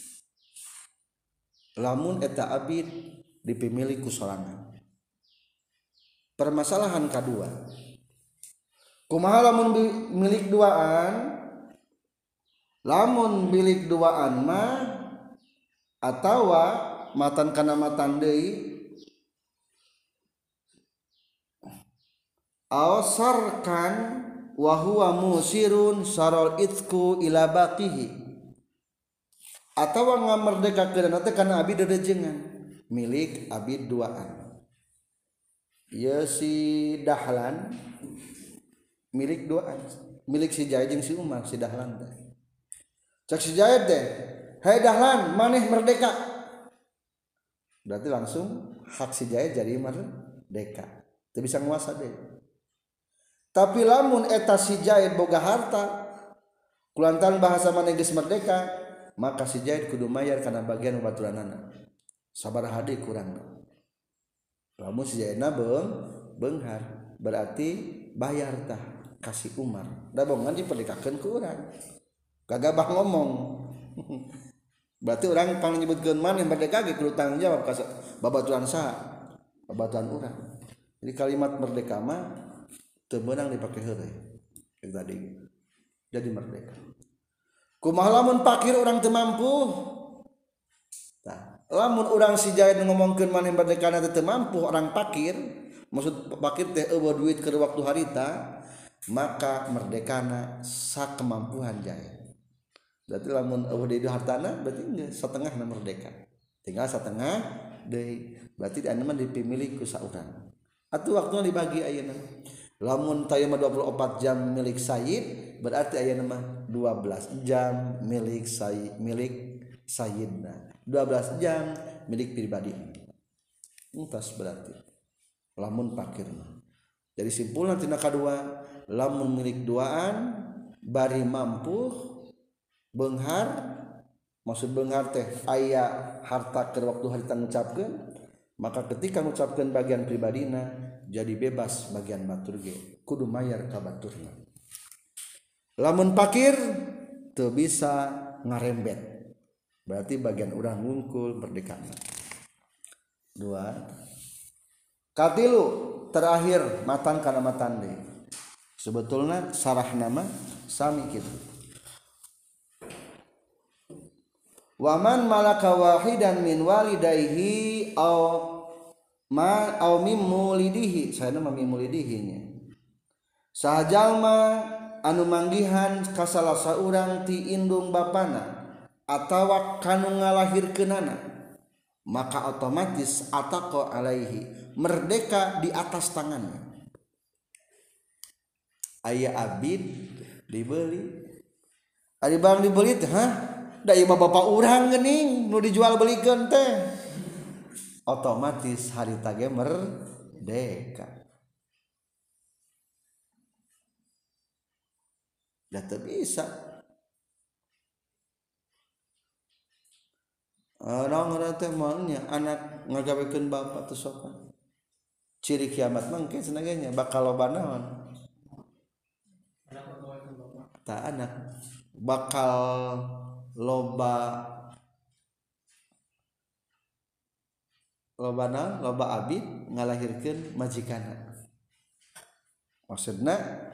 lamun eta abid dipimilih ku sorangan. Permasalahan kedua, kumaha lamun milik duaan, lamun milik duaan mah atawa matan kana matan deui awsarkan wa huwa musirun sarol itku ila baqihi atawa ngamerdekakeun teh kana abid dedejengan milik abid duaan ya si dahlan milik duaan milik si Jaid jeung si Umar si dahlan teh cak si Jaid teh hai dahlan maneh merdeka berarti langsung hak si Jaid jadi merdeka teu bisa nguasa deui tapi lamun eta si Jaid boga harta kulantaran bahasa maneh geus merdeka maka si Jaid kudu mayar kana bagian baturanana sabaraha deui kurang lamun si Jaidna beung beunghar berarti bayar tah kasih Umar da bongan diperdekakeun ku urang kagabah ngomong berarti urang pang nyebutkeun maneh merdeka ge kudu tanggung jawab ka babaturan saha babaturan urang jadi kalimat merdeka mah teu beunang dipake heureuy yang tadi jadi merdeka kumaha lamun fakir urang teu mampu tah lamun urang si Jaid ngomongkeun maneh merdekana teu mampu orang fakir maksud fakir teh eueuh duit keur waktu harita maka merdekana sakemampuan Jaid berarti lamun eueuh deui hartana berarti geus satengahna merdeka tinggal satengah deui berarti anu mah dipimilih ku saurang atuh waktuna dibagi ayeuna lamun tayang mah dua puluh empat jam milik Sayyid berarti aya nama dua belas jam milik Sayyid milik Sayyidna dua belas jam milik pribadi entas berarti lamun pakir jadi simpulan tina kadua lamun milik duaan bari mampu beunghar maksud beunghar teh aya harta keur waktu harita ngucapkeun maka ketika ngucapkeun bagian pribadina jadi bebas bagian batur ge kudu mayar ka baturna lamun pakir teu bisa ngarembet berarti bagian urang ngungkul merdekana dua katilu terakhir matan kana matan deui sebetulna sarah nama sami kitu waman malaka wahidan min walidayhi au ma au mim mulidihi saena mah mim mulidihi nya sajalma anu manggihan ka salah saurang ti indung bapana atawa kanu ngalahirkeunana maka otomatis ataqa alaihi merdeka di atas tangannya aya abid dibeli ari barang dibeli teh hah da ieu bapak urang geuning nu dijual belikeun teh otomatis harita ge merdeka da teu bisa orang orang teh maunya anak ngagawekeun bapak teu sopan ciri kiamat mah engke cenah bakal loba naon ta anak bakal loba loba naon loba abid ngalahirkeun majikanna maksudna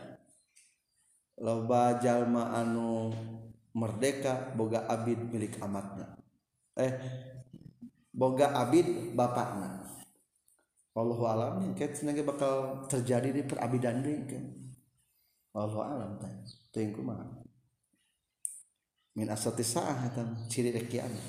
loba jalma anu merdeka boga abid milik amatna eh boga abid bapakna wallahu alam ket cenah bakal terjadi di perabidan deui kan wallahu alam teh teuing kumaha min asati saah eta ciri rek kiamat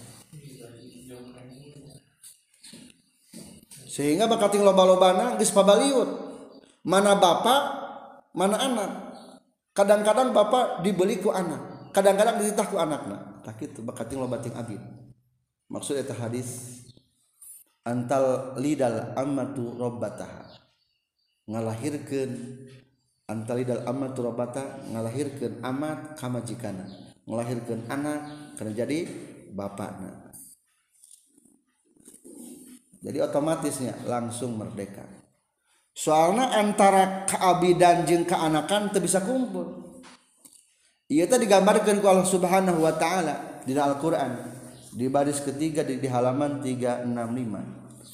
sehingga bakal ting loba-lobana geus pabaliut mana bapak mana anak kadang-kadang bapak dibeli ku anak kadang-kadang dititah ku anakna tah kitu bakal ting loba ting abid maksud eta hadis antal lidal ammatu rabbataha ngalahirkeun antal lidal ammatu rabbata ngalahirkeun amat ka majikana ngalahirkeun anak kana jadi bapakna jadi otomatisnya langsung merdeka soalna antara kaabidan jeung kaanakan teu bisa kumpul ieu teh digambarkeun ku Allah Subhanahu wa taala di Al-Qur'an di baris ketiga di, di halaman tiga enam lima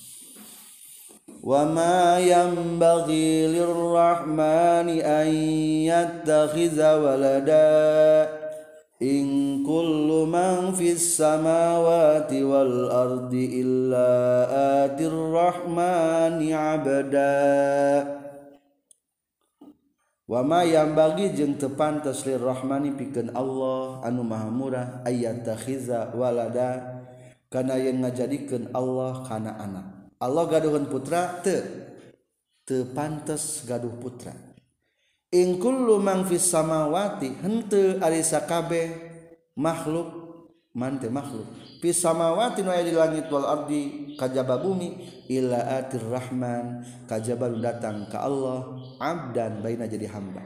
wa ma yanbaghi lirrahmani an yattakhiza walada in kullu man fis samawati wal ardi illa atir rahmani abada wa ma yanbaghi jeung teu pantes lirrahmani pikeun Allah anu maha murah ayat takhiza walada kana yang ngajadikeun Allah kana anak Allah gaduhan putra teu teu pantes gaduh putra in kullu man fis samawati henteu ari sakabeh makhluk man teh makhluk fis samawati nu aya di langit wal ardi kajaba bumi illa atir rahman kajaba datang ka Allah abdan baina jadi hamba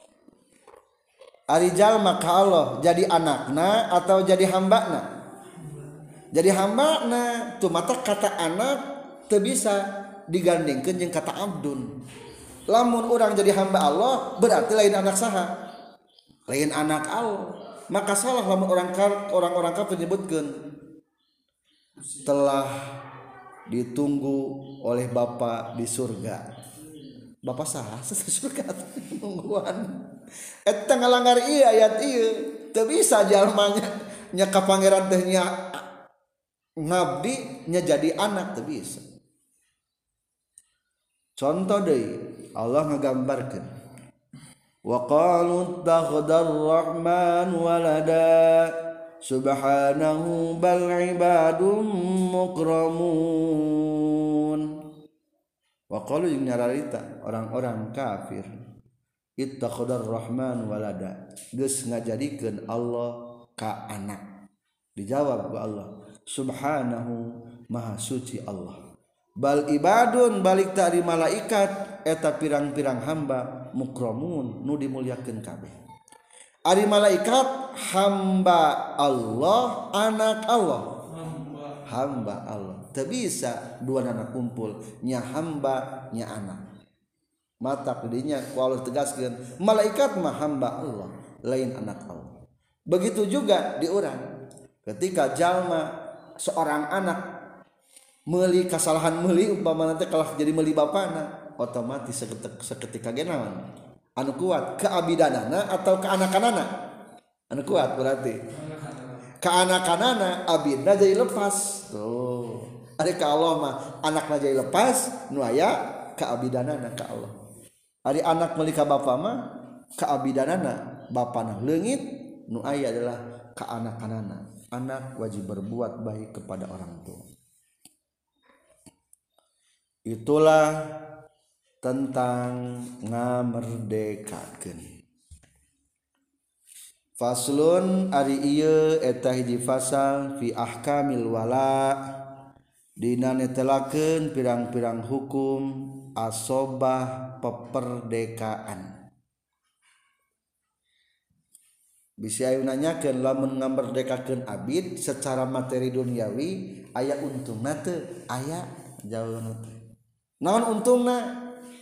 ari jalma ka Allah jadi anakna atau jadi hambana jadi hambana tuh mata kata anak teu bisa digandengkeun jeung kata abdun lamun urang jadi hamba Allah berarti lain anak saha lain anak Allah maka salah lamun orang orang-orang kafir menyebutkeun telah ditunggu oleh Bapa di surga. Bapa saha surga nungguan. Eta ngalanggar ieu ayat ieu teu bisa jalma nya ka pangeran teh nya ngabdi nya jadi anak teu bisa. Contoh deui Allah ngagambarkeun wa qalu takhadar rahman walada subhanahu bal ibadum mukramun wa qalu jeung nyararita orang-orang kafir ittakhadar rahman walada geus ngajadikeun Allah ka anak. Dijawab ku Allah subhanahu maha suci Allah. Bal ibadun balik tari malaikat eta pirang-pirang hamba mukramun nu dimulyakeun kabeh. Ari malaikat hamba Allah, anak Allah. Hamba, hamba Allah. Teu bisa dua anak kumpul, nya hamba nya anak. Mata dinya ku Allah tegaskeun, malaikat mah hamba Allah, lain anak Allah. Begitu juga di urang. Ketika jalma seorang anak meuli kasalahan meuli umpamana teh kalah jadi meuli bapana, otomatis seketika ge naon? Anu kuat keabidanana atau keanakanana? Anu kuat berarti keanakanana, abidna jadi lepas. Tuh. Ari ka Allah mah anakna jadi lepas, nu aya keabidanana ka Allah. Ari anak meuli ka bapa mah keabidanana bapana leungit, nu aya adalah keanakanana. Anak wajib berbuat baik kepada orang tua. Itulah tentang ngamerdekakeun. Faslun ari ieu eta hiji fasal fi ahkamil wala dina netelakeun pirang-pirang hukum asobah peperdekaan. Bisa ayo nanyakeun lamun ngamerdekakeun abid secara materi duniawi aya untungna teu? Aya jawabanna teh. Naon untungna?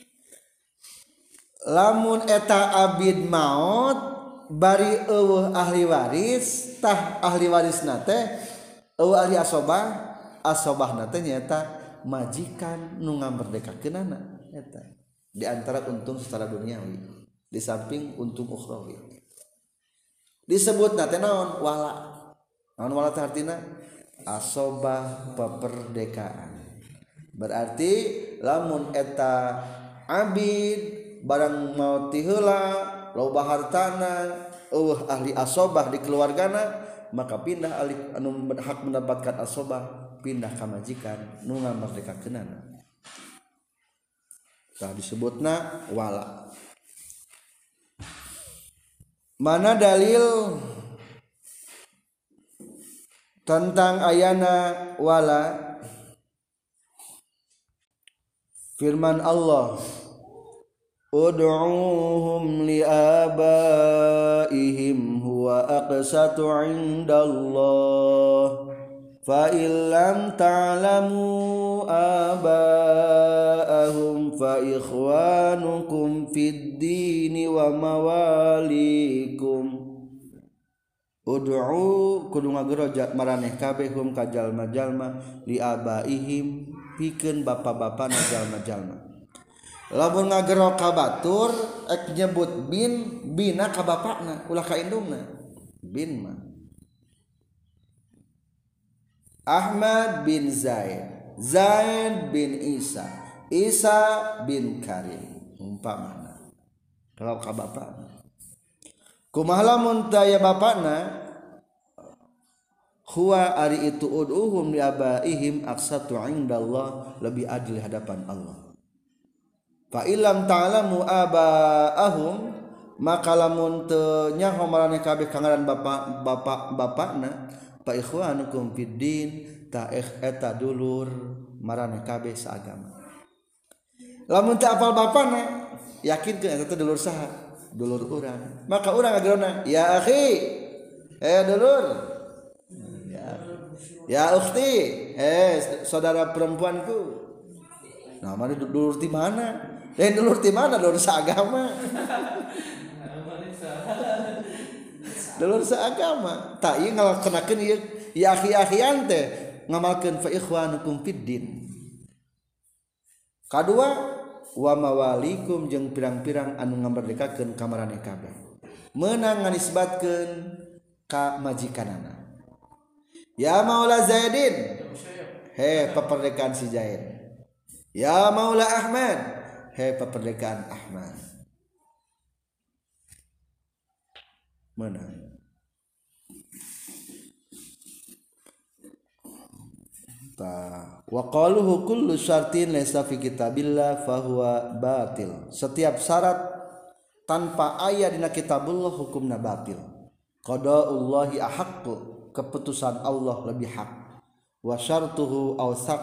Lamun eta abid maot bari eueuh ahli waris, tah ahli warisna teh eueuh ahli asobah, asobahna teh nyaeta majikan nu ngamerdekakeunana eta. Di antara untung secara duniawi, di samping untung ukhrawi. Disebutna teh naon? Wala. Naon wala teh artina? Asobah peperdekaan. Berarti lamun eta abid barang mau ti heula loba hartana eueuh ahli asobah di keluargana, maka pindah ahli anu hak mendapatkan asobah pindah ka majikan nu ngamerdekakeunana. Tah disebutna wala. Mana dalil tentang ayana wala? Firman Allah, ud'uuhum liabaihim huwa aqsatu 'indallah fa illam ta'lamu abaahum fa ikhwanukum fid dini wa mawalikum. Ud'u kudu ngageroja maraneh kabeh hum ka jalma-jalma liabaihim pikeun bapa-bapana jalma-jalma. Lamun ngagero ka batur ek nyebut bin, bina ka bapakna ulah ka indungna. Bin mah Ahmad bin Zaid, Zaid bin Isa, Isa bin Karim umpamana. Kalau ka bapakna kumaha lamun taya bapakna huwa ari itu ud'uhum li abaihim aqsatu 'indallah lebih adil hadapan Allah. Fa illam ta'lamu abaahum maka lamun teu nyaho maraneh kabeh kangaran bapak bapak bapakna fa ikhwanukum fid din ta eta dulur maraneh kabeh saagama. Lamun teu apal bapana yakinkeun eta teh dulur saha? Dulur urang. Maka urang ngagerona ya akhi, eh dulur, ya, ya ukhti, eh saudara perempuanku. Nah, mana dulur di mana? Eh dulur di mana? Dulur seagama. Dulur seagama. Tak ieu ngalakonakeun ieu ya akhi-akhian teh ngamalkeun fa ikhwanukum fid din. Kadua wa mawalikum jeung pirang-pirang anu ngamerdekakeun ka maraneh kabeh. Meunang nganisbatkeun ka majikanana. Ya Maula Zaidin. He peperdekaan si Zaid. Ya Maula Ahmad. He peperdekaan Ahmad. Meunang. ta wa qaluhu kullu syartin laysa fi kitabillah fahuwa batil. Setiap syarat tanpa aya dina kitabullah hukumna batil. Qada'ullahi ahaqqu, keputusan Allah lebih hak. Wa syartuhu awsaq,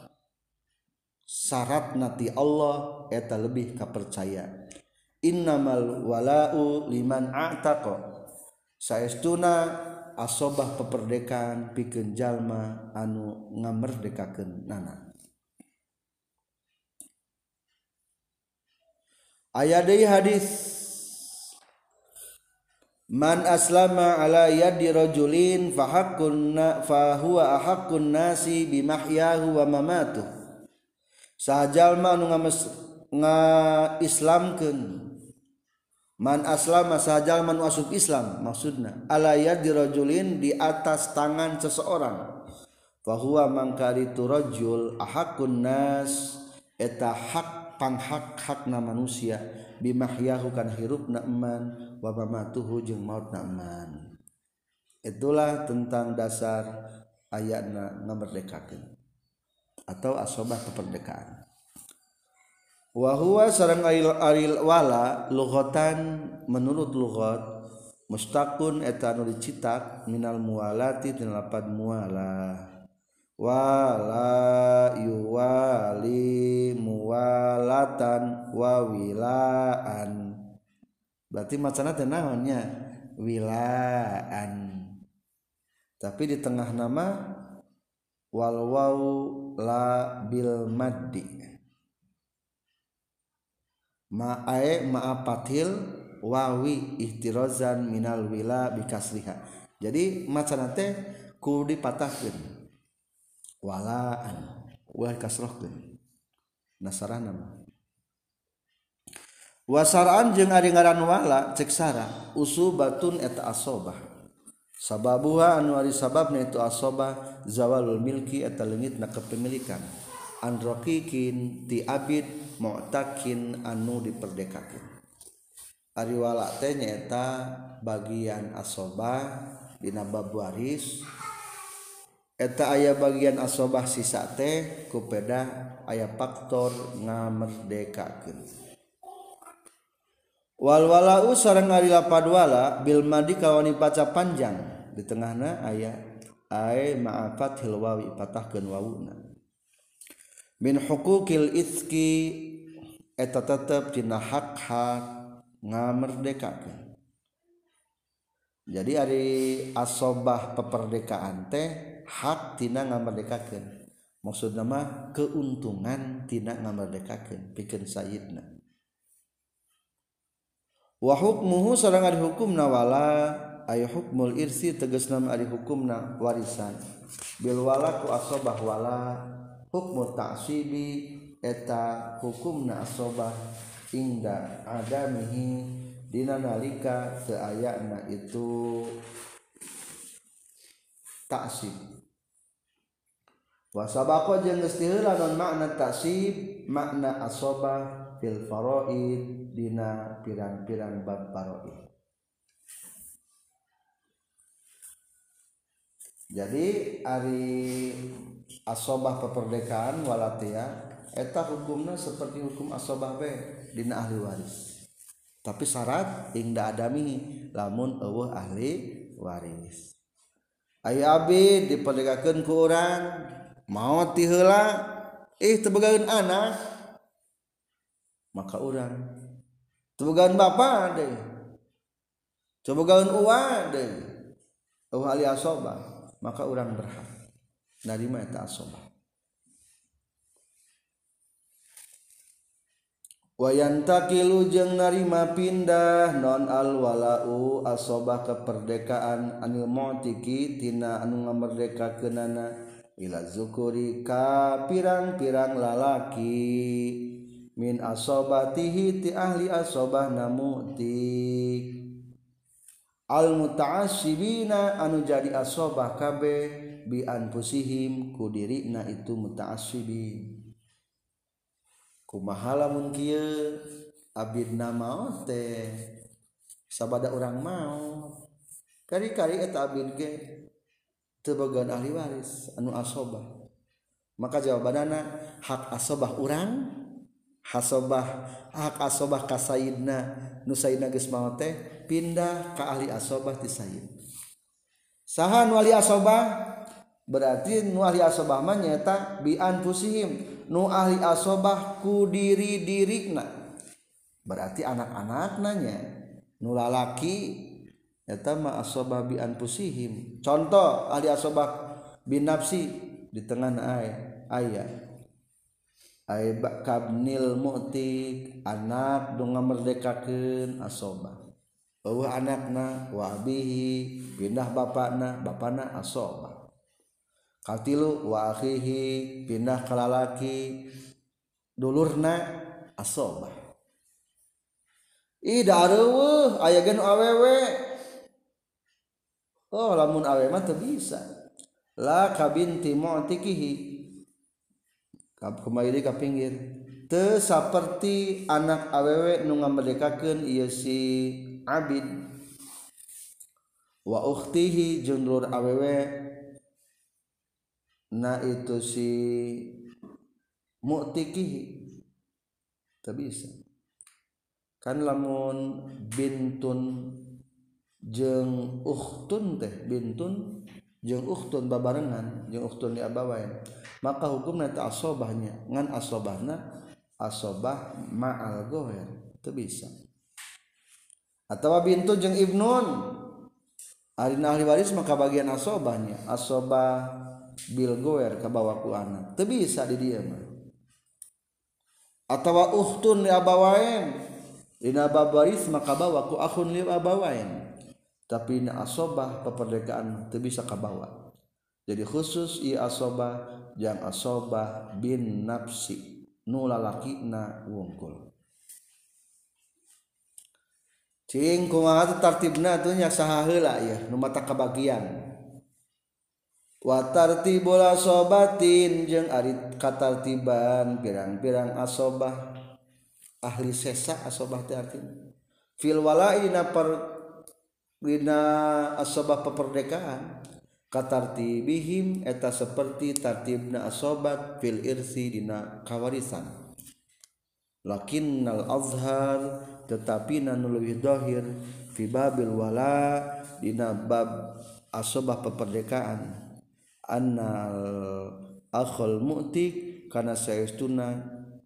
syarat nati Allah eta lebih kapercaya. Innamal wala'u liman a'taqa, saestuna asobah peperdekaan pikeun jalma anu ngamerdekakeun nana. Aya deui hadis man aslama ala yadi rajulin fa haqqun fa huwa ahaqqun nasi bi mahyahu wa mamatuh. Sajalma anu ngaislamkeun man aslama sajalma anu asup Islam maksudna ala yadi rajulin di atas tangan seseorang fa huwa mangkari tu rajul ahaqqun nas eta hak panghak hakna manusia bimahyahu kan hirupna eman wa mamatuhu jeung mautna eman. Itulah tentang dasar ayatna ngamerdekakeun atau asobah kemerdekaan. Wa huwa sareng aril wala lughatan menurut lughat mustaqun eta anu dicitak minal muwalati tina lapad muwala wala yuwali muwalatan wa wilaan. Berarti macana teh naonnya wilaan, tapi di tengah nama wal waw la bil maddi ma'ae ma'apatil wawi ihtirozan minal wila bikasriha. Jadi macana teh kudu dipatahkeun walaan wa kasrohkeun nasarana mah. Wasaraan jeung ari ngaran wala cek sara usubatun eta asobah sababuha anu ari sababna itu asobah zawalul milki eta leungitna kepemilikan an raqiqin ti abid mu'takin anu diperdekakeun. Ari wala teh nyaeta bagian asobah dina bab waris eta aya bagian asobah sisa teh kupeda aya faktor ngamerdekakeun. Wal walau sareng ari lapad wala bil madi kawani baca panjang di tengahna aya ai ma'afat hilwawi patahkeun wawuna min huquqil itzki eta tetep dina hak-hak ngamerdekakeun. Jadi ari asobah peperdekaan teh hak tina ngamerdekakeun, maksudna mah keuntungan tina ngamerdekakeun pikeun sayyidna. Wa hukmuhu sareng ari hukumna wala ay hukmul irsi tegasna ari hukumna warisan bil wala ku asobah wala hukmu ta'sibi eta hukumna asobah ingda adamihi dina nalika teu ayana itu ta'sib. Wa sabaqa jeung geus tiheula non makna ta'sib makna asobah fil faraid dina pirang-pirang bab faraid. Jadi ari asobah keperdekaan walatia eta hukumna seperti hukum asobah we dina ahli waris. Tapi syarat ingda adami lamun eueuh ahli waris. Aya abdi diperdekakeun ku urang maot ti heula ih teu begaeun anak maka urang teu begaeun bapa deui teu begaeun uwa deui eueuh ahli asobah maka urang berhak narima eta asobah. Wayantakilu jeung narima pindah non al walau asobah keperdekaan anil mu'tiki tina anu ngamerdekakeunana ila zukuri ka pirang-pirang lalaki min asobatihi ti ahli asobah namu'tik al muta'assibina anu jadi asobah kabeh bi anfusihim ku dirina itu muta'assibin. Kumaha lamun kieu abidna maot teh sabada urang maot kari-kari eta abid ge teu bogaan ahli waris anu asobah maka jawabanana hak asobah urang hasobah hak asobah ka sayidna nu sayidna geus maot teh pindah ka ahli asobah ti sayid. Saha nu ahli asobah berarti nu ahli asobah mah nyaeta bi anfusihim nu ahli asobah ku diri-dirina berarti anak-anakna nya nu lalaki eta mah asobah bi anfusihim. Contoh ahli asobah bin nafsi di tengah ayat ayat ay kabnil mu'tik anak nu ngamerdekakeun asobah eueuh anakna wa abihi pindah bapana bapana asobah katilu wa akhihi pindah ka lalaki dulurna asobah. Ih da areueuh aya ge nu awewe. Oh lamun awewe mah teu bisa. La kabinti mu'tikihi kembali ka pinggir teu saperti anak awewe nu ngamerdekakeun ieu si abid wa ukhtihi jeung dulur awewe na itu si mu'tikihi teu bisa kan lamun bintun jeung ukhtun teh bintun jeung ukhtun babarengan jeung ukhtun li abawain maka hukumna teh asobahnya ngan asobahna asobah ma'al ghair teu bisa. Atawa bintun jeung ibnun ari ahli waris maka bagian asobahnya asobah bil ghair kabawa ku anak teu bisa di dieu mah. Atawa ukhtun li abawain dina bab waris maka bawa ku akhun li abawain tapi na asobah peperdekaan teu bisa kabawa. Jadi khusus ieu asobah jang asobah bin nafsi nu lalakina wungkul. Cing kumaha tartibna teh nya saha heula ieu nu mata kabagian. Wa tartibul asobatin jeung ari katartiban pirang-pirang asobah ahli sesa asobah teh artina fil wala'i na per dina asobah peperdekaan katartibihim eta seperti tartibna asobat fil irsi dina kawarisan lakinnal azhar tetapi nu leuwih dhahir fi babil wala dina bab asobah peperdekaan annal akhul mu'tik kana saestuna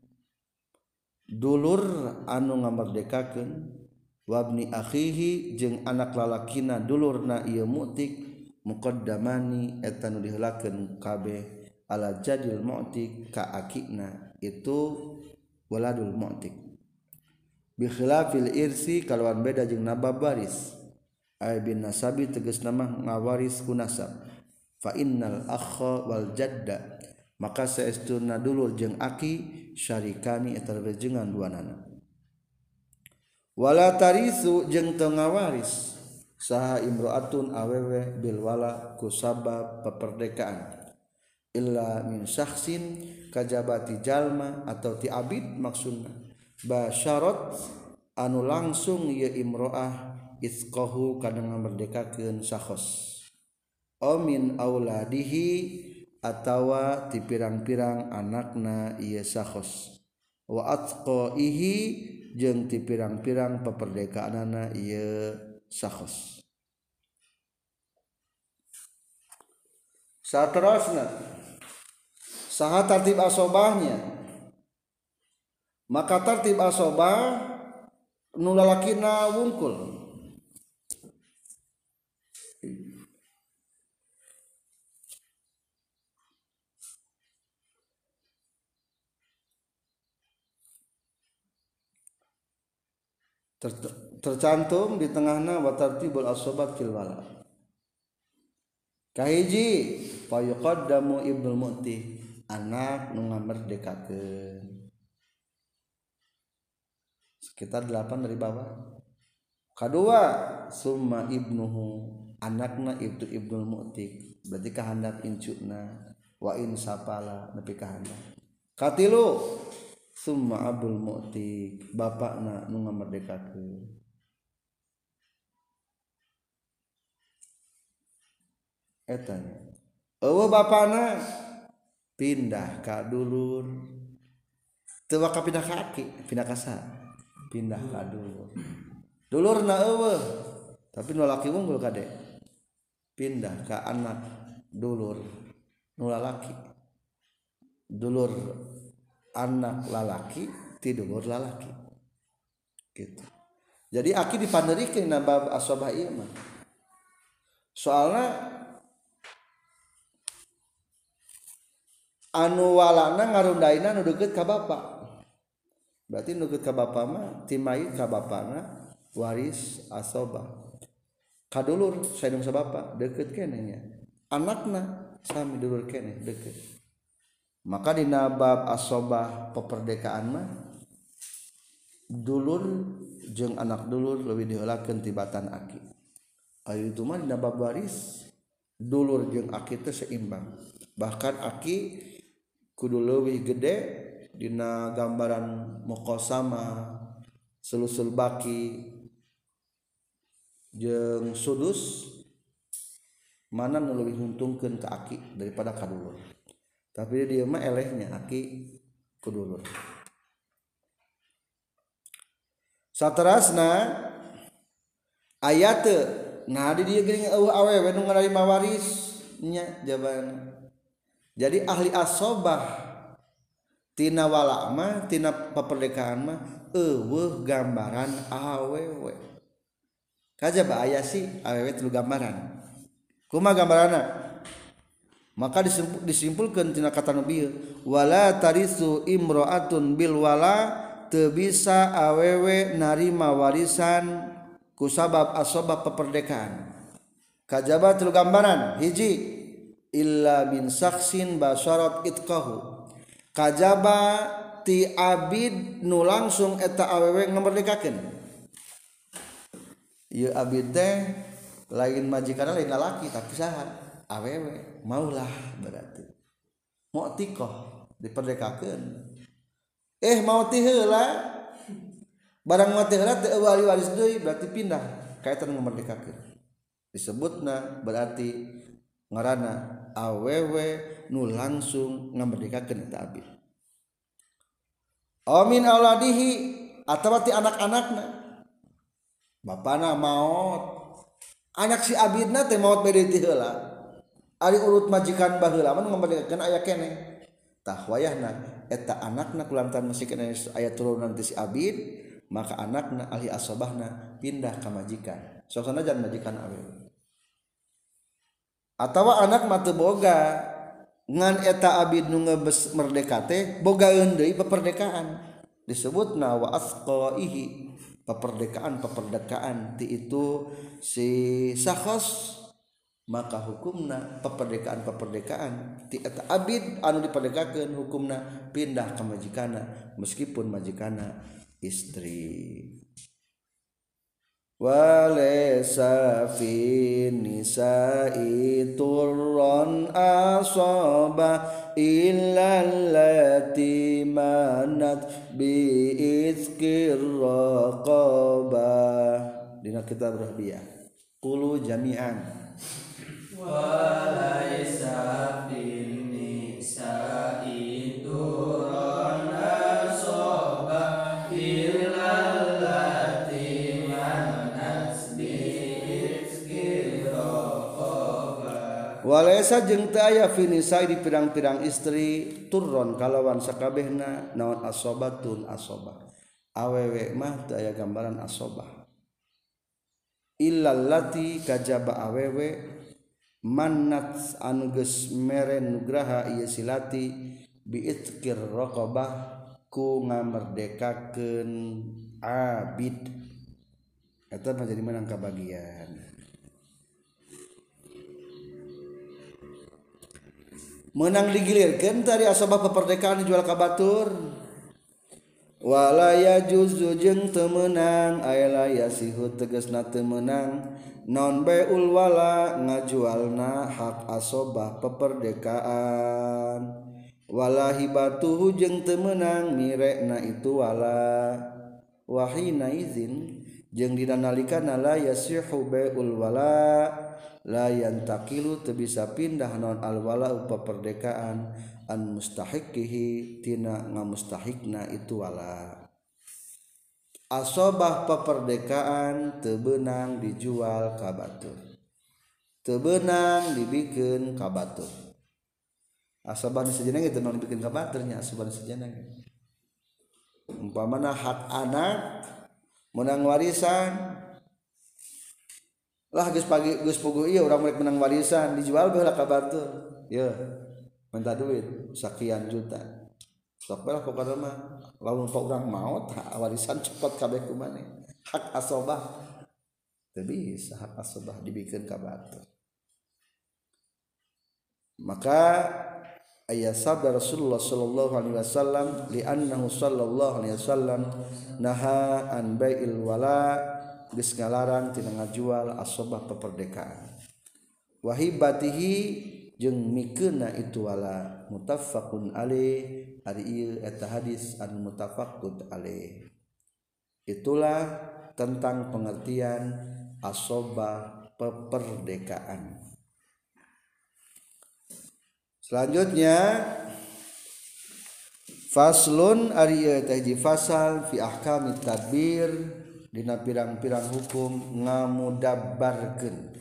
dulur anu ngamerdekakeun wabni akhihi jeung anak lalakina dulurna ieu mu'tik muqaddamani eta nu diheulakeun kabeh ala jadil mu'tik ka akina itu waladul mu'tik bi khilafil irsi kalawan beda jeung nabab waris ay bin nasabi tegasna mah ngawaris ku nasab fa innal akha wal jadda maka saestuna dulur jeung aki syarikani eta rejengan duanana wala tarisu jeung teu ngawaris saha imro'atun awewe bil wala ku sabab peperdekaan illa min syakhsin kajabati jalma atau ti abid maksudna basyarat anu langsung ieu imro'ah isqahu kana ngamerdekakeun sakhos o min auladihi atawa ti pirang-pirang anakna ieu sakhos wa atqaihi jeung ti pirang-pirang peperdekaanana ieu sakhos. Saterusna saha tartib asobahnya maka tartib asobah nu lalakina wungkul Ter, tercantum di tengahna wa tartibul asobat fil wala kahiji fa yuqaddamu ibnul mu'ti anak nu ngamerdekakeun sekitar delapan dari bawah. Kadua summa ibnuhu anakna itu ibnul mu'ti berarti kahandap incuna wa in sapala nepi kahandap. Katilu summa abul mu'ti bapakna nu ngamerdekakeun eta eueuh bapana pindah ka dulur teu waka pindah ka aki pindah ka sa pindah ka dulur dulurna eueuh tapi nu lalaki unggul kade pindah ka anak dulur nu lalaki dulur anak lalaki ti dulur lalaki gitu. Jadi aki dipanderikeun na bab asobah ieu mah soalna anu walana ngarundaina nu deukeut ka bapa berarti nu deukeut ka bapa mah ti mayit ka bapana waris asobah ka dulur saeung sa bapa deukeut keneh nya anakna sami dulur keneh deukeut maka dina bab asobah peperdekaan mah dulur jeung anak dulur leuwih diheulakeun tibatan aki aya itu mah dina bab waris dulur jeung aki teh seimbang bahkan aki kudu leuwih gede dina gambaran muqasamah sulusul baki jeung sudus mana nu leuwih nguntungkeun ka aki daripada ka dulur tapi dia mah elehnya aki ku dulur saterasna aya teu nah di dieu geuning eueuh awewe nu ngarima waris nya jawabanna jadi ahli asobah tina wala mah tina paperdekaan mah eueuh gambaran awewe kajaba aya sih awewe telu gambaran kumaha gambaranna maka disimpulkeun tina kata nu bieu wala tarisu imraatun bil wala teu bisa awewe narima warisan ku sabab asobah paperdekaan kajaba telu gambaran hiji illa min saksin basyarat itqahu kajaba ti abid nu langsung eta awewe ngamerdekakeun ieu abid teh lain majikanna lain lalaki tapi saha awewe maulah berarti mu'tiqah diperdekakeun eh mau ti heula barang mati heula teu wali waris deui berarti pindah kaetan ngamerdekakeun disebutna berarti ngaranna awewe nu langsung ngamerdekakeun eta abid amin auladihi atawa ti anak-anakna bapana maot anak si abidna teh maot bade ti heula ari urut majikan baheula mah ngamerdekakeun aya keneh tah wayahna eta anakna kulantaran masih keneh aya turunan ti si abid maka anakna ahli asobahna pindah ka majikan sok sanajan majikan awewe atawa anak mah teu boga ngan eta abid nu ngeubes merdeka teh bogaeun deui peperdekaan disebutna wa asqaihi peperdekaan peperdekaan ti itu si sakhos maka hukumna peperdekaan peperdekaan ti eta abid anu diperdekakeun hukumna pindah ka majikanna meskipun majikanna istri walaysa fi nisa'i turran asaba illa allati manat bi izkir raqabah dina kitab Rahbiyah qulu jami'an walaysa fi nisa'i turran asaba illa walaysa jeung teu aya fi nisa di pirang-pirang istri turron kalawan sakabehna naon asobatun asobah awewe mah teu aya gambaran asobah illal lati kajaba awewe mannat anu geus mere nugraha ieu silati biitkir raqabah ku ngamerdekakeun abid eta mah jadi menang kabagian menang digilirkeun tadi asabah peperdekaan dijual ka batur wala yajuzu jeung teu meunang aya yasihu tegasna teu meunang non baul wala ngajualna hak asobah peperdekaan wala hibatuhu jeung teu meunang mirekna itu wala wahina izin jeung dina nalikana la yasihu baul wala la yantaqilu teu bisa pindah naon al wala peperdekaan an mustahiqihi tina ngamustahikna itu wala. Asobah peperdekaan teu beunang dijual ka batur, teu beunang dibikeun ka batur. Asobah sejeneng itu non dibikeun ka batur nya asobah sejeneng. Umpamana hak anak menang warisan lah geus pagi geus puguh ieu urang rek menang warisan dijual bae ka batur. Ye minta duit sekian juta. Sok bae pokona mah lamun pok urang maot warisan cepet kabeh ku maneh. Hak asobah teu bisa hak asobah dibikeun ka batur. Maka aya sabda Rasulullah sallallahu alaihi wasallam li annahu sallallahu alaihi wasallam naha an bai'il wala geus ngalarang tina ngajual asobah peperdekaan. Wahibatihi jeung mikeunna itu wala muttafaqun alaih ari ieu eta hadis anu muttafaqun alaih. Itulah tentang pengertian asobah peperdekaan. Selanjutnya faslun ari ieu teh hiji fasal fi ahkamit tadbir dina pirang-pirang hukum ngamudabbarkeun.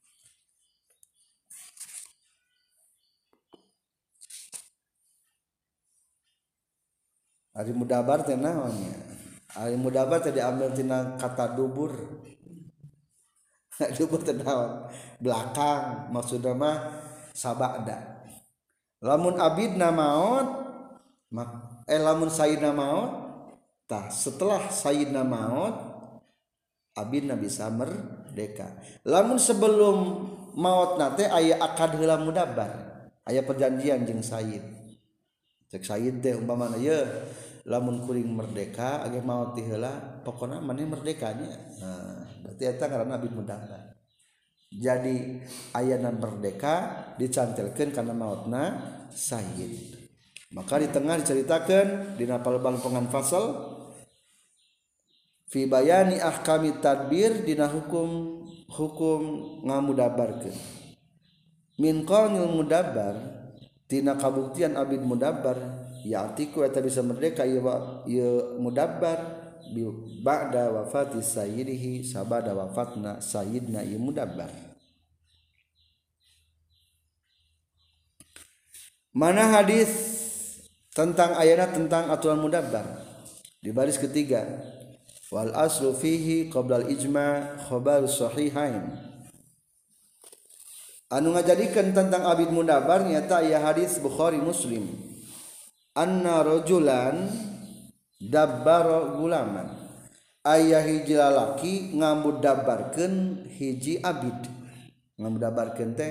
Ari mudabar teh naon nya? Ari mudabar teh diambil tina kata dubur. Dubur teh naon? Belakang maksudna mah sabada. Lamun abidna maot eh lamun sayyidna maot tah setelah sayyidna maot abidna bisa merdeka. Lamun sebelum maot nate aya akad heula mudabbar, aya perjanjian jeung sayyid. Cek sayyid teh umpamana ye lamun kuring merdeka age maot ti heula pokona maneh merdekanya. Nah, berarti eta ngaranna abid mudabbar. Jadi ayana merdeka dicantelkeun kana maotna sayyid. Maka di tengah diceritakeun dina palebang-pengan fasal fi bayani ahkami tadbir dina hukum hukum ngamudabarkeun. Min qaulil mudabbar tina kabuktian abid mudabbar ya'tiku eta bisa merdeka ieu ieu mudabbar ba'da wafati sayyidihi sabada wafatna sayyidna ieu mudabbar. Mana hadis tentang ayat tentang aturan mudabbar di baris ketiga wal aslu fihi qabla al ijma' khabar sahihain. Anu ngajadikeun tentang abid mudabbar nyata aya hadis Bukhari Muslim anna rajulan dabbara gulaman aya hiji lalaki ngamudabbarkeun hiji abid. Ngamudabbarkeun teh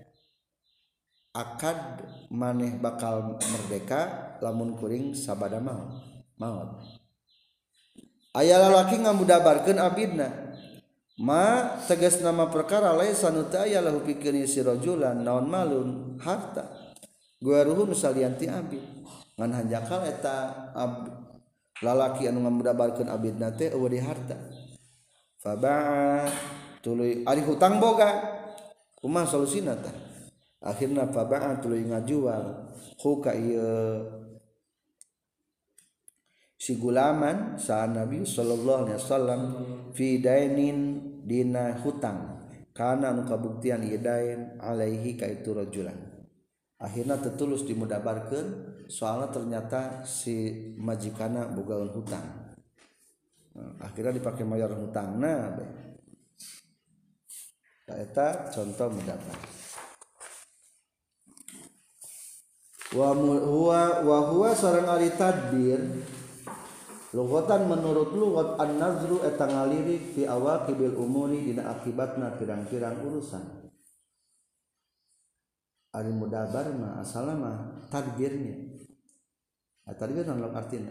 akad maneh bakal merdeka lamun kuring sabada maot. Maot. Aya lalaki ngamudabarkeun abidna. Ma tegas nama perkara laisa nu teu aya lahu pikeun si rajulan naon malun harta. Guaruhu salian ti abid. Ngan hanjakal eta abid. Lalaki anu ngamudabarkeun abidna teh eueuh di harta. Faba'a tuluy ari hutang boga. Kumaha solusina tah? Akhirna faba'a tuluy ngajual hu ka ieu si gulaman sa Nabi sallallahu alaihi wasallam fi dainin dina hutang kana anu kabuktian ieu dain alaihi ka itu rajulan. Akhirna tetulus dimudabarkeun soalna ternyata si majikana bogaeun hutang. Akhirnya dipake mayar hutangna bae. Eta contoh mudabbar. Wa huwa wa huwa sareng ari tadbir lughatan menurut lughat an-nazru eta ngalirik fi awaqibil umuri dina akibatna pirang-pirang urusan. Ari mudabbar mah asalna mah tadbirnya. Ah tadbir naon artina?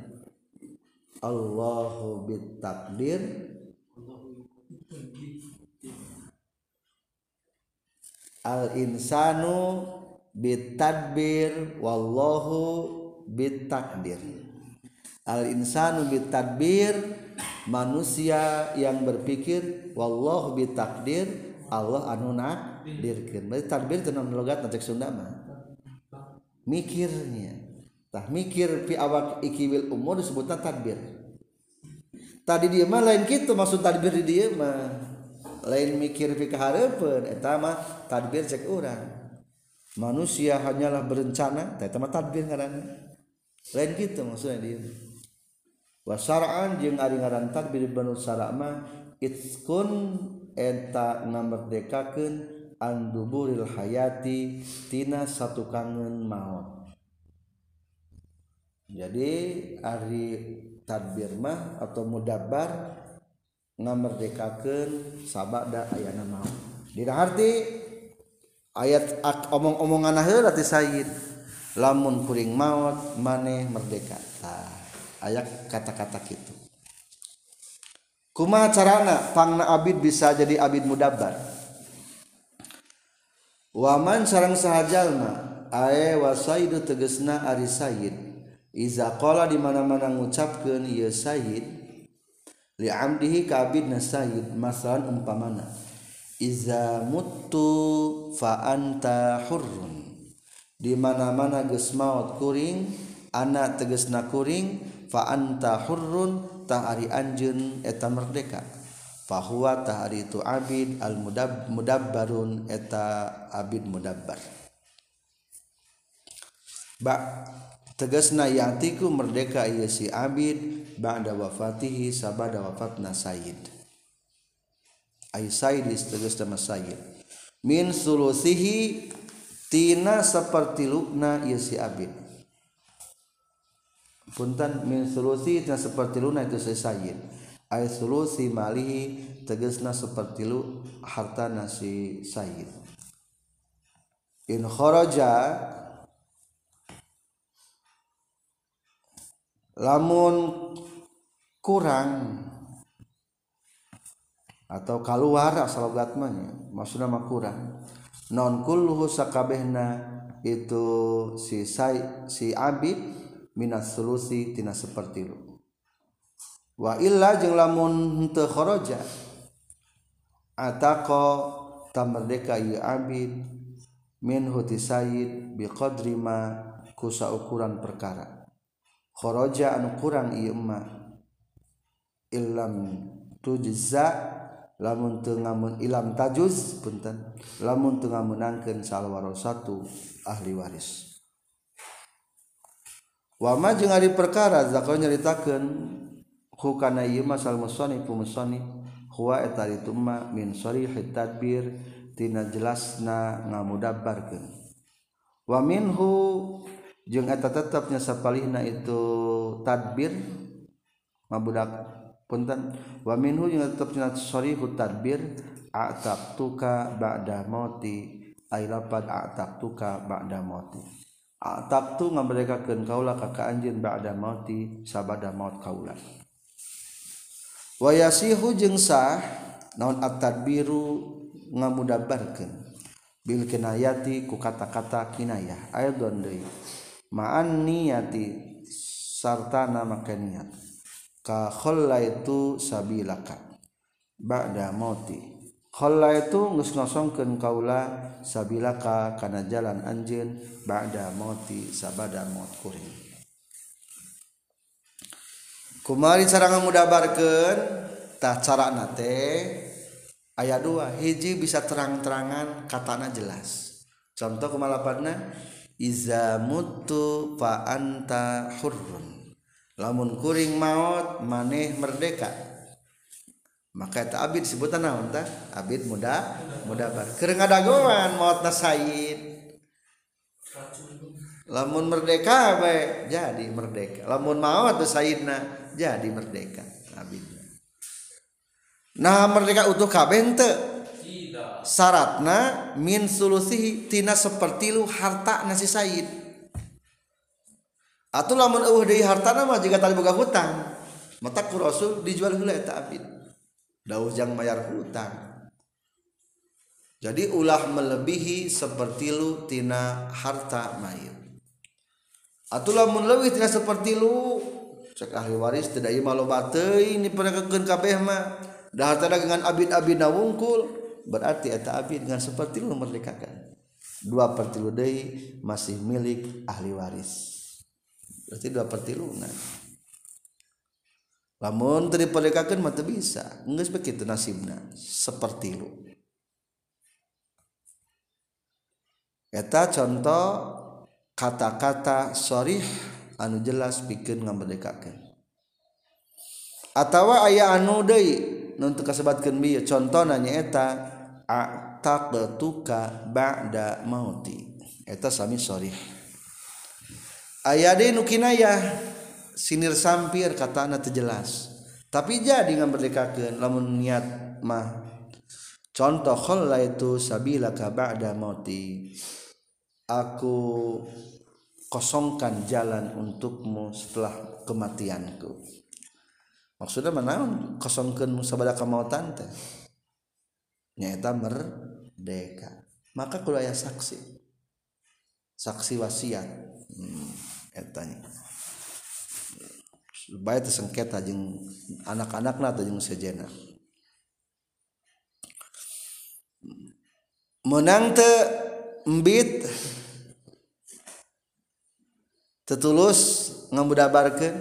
Allahu bit takdir al insanu bit tadbir wallahu bit takdir. Al insanu bit tadbir manusia yang berpikir, wallahu bit takdir Allah anu nakdirkeun. Berarti tadbir teh naon logat cek Sunda mah. mikirnya tah mikir fi awak ikiwil umur disebutna tadbir. Tadi dia mah lain kitu maksud tadbir di dia mah lain mikir fi kahareupeun eta mah tadbir cek urang. Manusia hanyalah berencana eta mah tadbir ngaranna. Lain kitu maksudnya dia. Wa syar'an jeung ari ngaran tadbir banu syara' mah itskun eta ngamerdekakeun an duburil hayati tina satu kangen maut. Jadi ari tadbir mah atau mudabbar ngamerdekakeun sabada ayana maut. Dina arti ayat omong-omongan heula ti Sayyid lamun kuring maut maneh merdeka. Tah ayat kata-kata kitu. Kumaha carana pangna abid bisa jadi abid mudabbar? Waman sareng saha jalma ae wasaidu tegesna ari sayyid iza qala di mana-mana ngucapkeun ieu sayyid li amdihi ka abidna sayyid masalan umpamana iza muttu fa anta hurrun di mana-mana geus maot kuring ana tegesna kuring fa anta hurrun tah ari anjeun eta merdeka fa huwa tah ari itu abid al mudab mudabbarun eta abid mudabbar ba tegasna yatiku merdeka ieu si abid ba'da wafatihi sabada wafatna sayyid ay sayyid tegasna sayyid min sulusihi tina sapertiluna ieu si abid punten min sulusi tina sapertiluna itu si sayyid ay sulusi malihi tegasna sapertilu hartana si sayyid in kharaja lamun kurang atau keluar asal logatna maksudna mah kurang non kulluhu sakabehna itu si say, si abid minas sulusi tina sapertilu wa illa jeung lamun henteu kharaja ataqa tamerdeka ieu abid min huti sayyid biqadri ma ku saukuran perkara kharaja anu kurang ieu mah illam tujza lamun teu ngamun ilam tajuz punten lamun teu ngamunangkeun salwarosatu ahli waris wa ma jeung ari perkara zakon nyaritakeun hukana ieu mah sal musannif musannif huwa eta itu mah min sharihit tadbir tina jelasna ngamudabbarkeun wa minhu jeung eta tetepnya sapalihna itu tadbir mabudak punten wa minhu jeung tetepnya sharihut tadbir a'taqtuka ba'da mauti ay lapad a'taqtuka ba'da mauti a'taqtu ngaberdekakeun kaula ka ka anjeun ba'da mauti sabada maut kaula wa yasihu jeung sah naon at-tadbiru ngamudabbarkeun bil kinayati ku kata-kata kinayah aidon deui ma'an niyati sartana maka niat ka khallaitu sabilaka ba'da mauti khallaitu geus ngosongkeun kaula sabilaka kana jalan anjeun ba'da mauti sabada maut kuring kumari cara ngamudabarkeun tah carana teh aya dua hiji bisa terang-terangan katana jelas contoh kumalapadna iza mutu fa anta hurrun lamun kuring maut maneh merdeka maka eta abid sebutan naon tah abid muda mudabbar keur ngadagoan mautna sayyid lamun merdeka bae jadi merdeka lamun maut teh sayyidna jadi merdeka abidna nah merdeka utuh kabeh teu syaratna min sulusihi tina sapertilu harta nasi sayyid atuh lamun eueuh deui hartana mah jiga tali boga hutang mata ku rasul dijual heula eta abid dauh jang mayar hutang jadi ulah melebihi sapertilu tina harta mayit atuh lamun leuwih tina sapertilu cek ahli waris teu da ieu mah loba teuing diperkeun kabeh mah da hartana dengan abid-abidna wungkul berarti eta abid dengan seperti lu merdekakan dua per tilu deui masih milik ahli waris. Berarti dua per tilu nah. Lamun teu diperdekakeun mah teu bisa. Geus begitu nasibna sepertilu. Eta contoh kata-kata sharih anu jelas pikeun ngamerdekakeun. Atawa aya anu deui nu teu kasebatkeun bieu contona nyaeta a'taqtuka ba'da mauti. Eta sami sharih. Aya deui nu kinayah sinir sampir katana teu jelas. Tapi jadi ngamerdekakeun lamun niat mah. Contoh khallaitu sabilaka ba'da mauti. Aku kosongkan jalan untukmu setelah kematianku. Maksudnya manaon kosongkeun sabada kamautan teh? Nyaeta merdeka. Maka kudu aya saksi. Saksi wasiat. Hmm, eta nya. Supaya teu sengketa jeung anak-anakna teh jeung sejenna. Menang teu embit tetulus ngamudabarkeun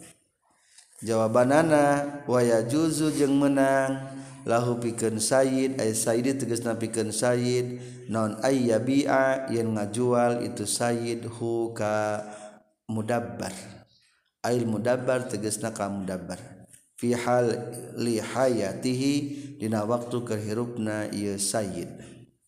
jawabanana wa yajuzu jeung menang lahu pikeun sayyid ay sayyid tegasna pikeun sayyid naon ay yabi'a yen ngajual itu sayyid hu ka mudabbar ay mudabbar tegasna ka mudabbar fi hal li hayatihi dina waktu kehirupna ieu sayyid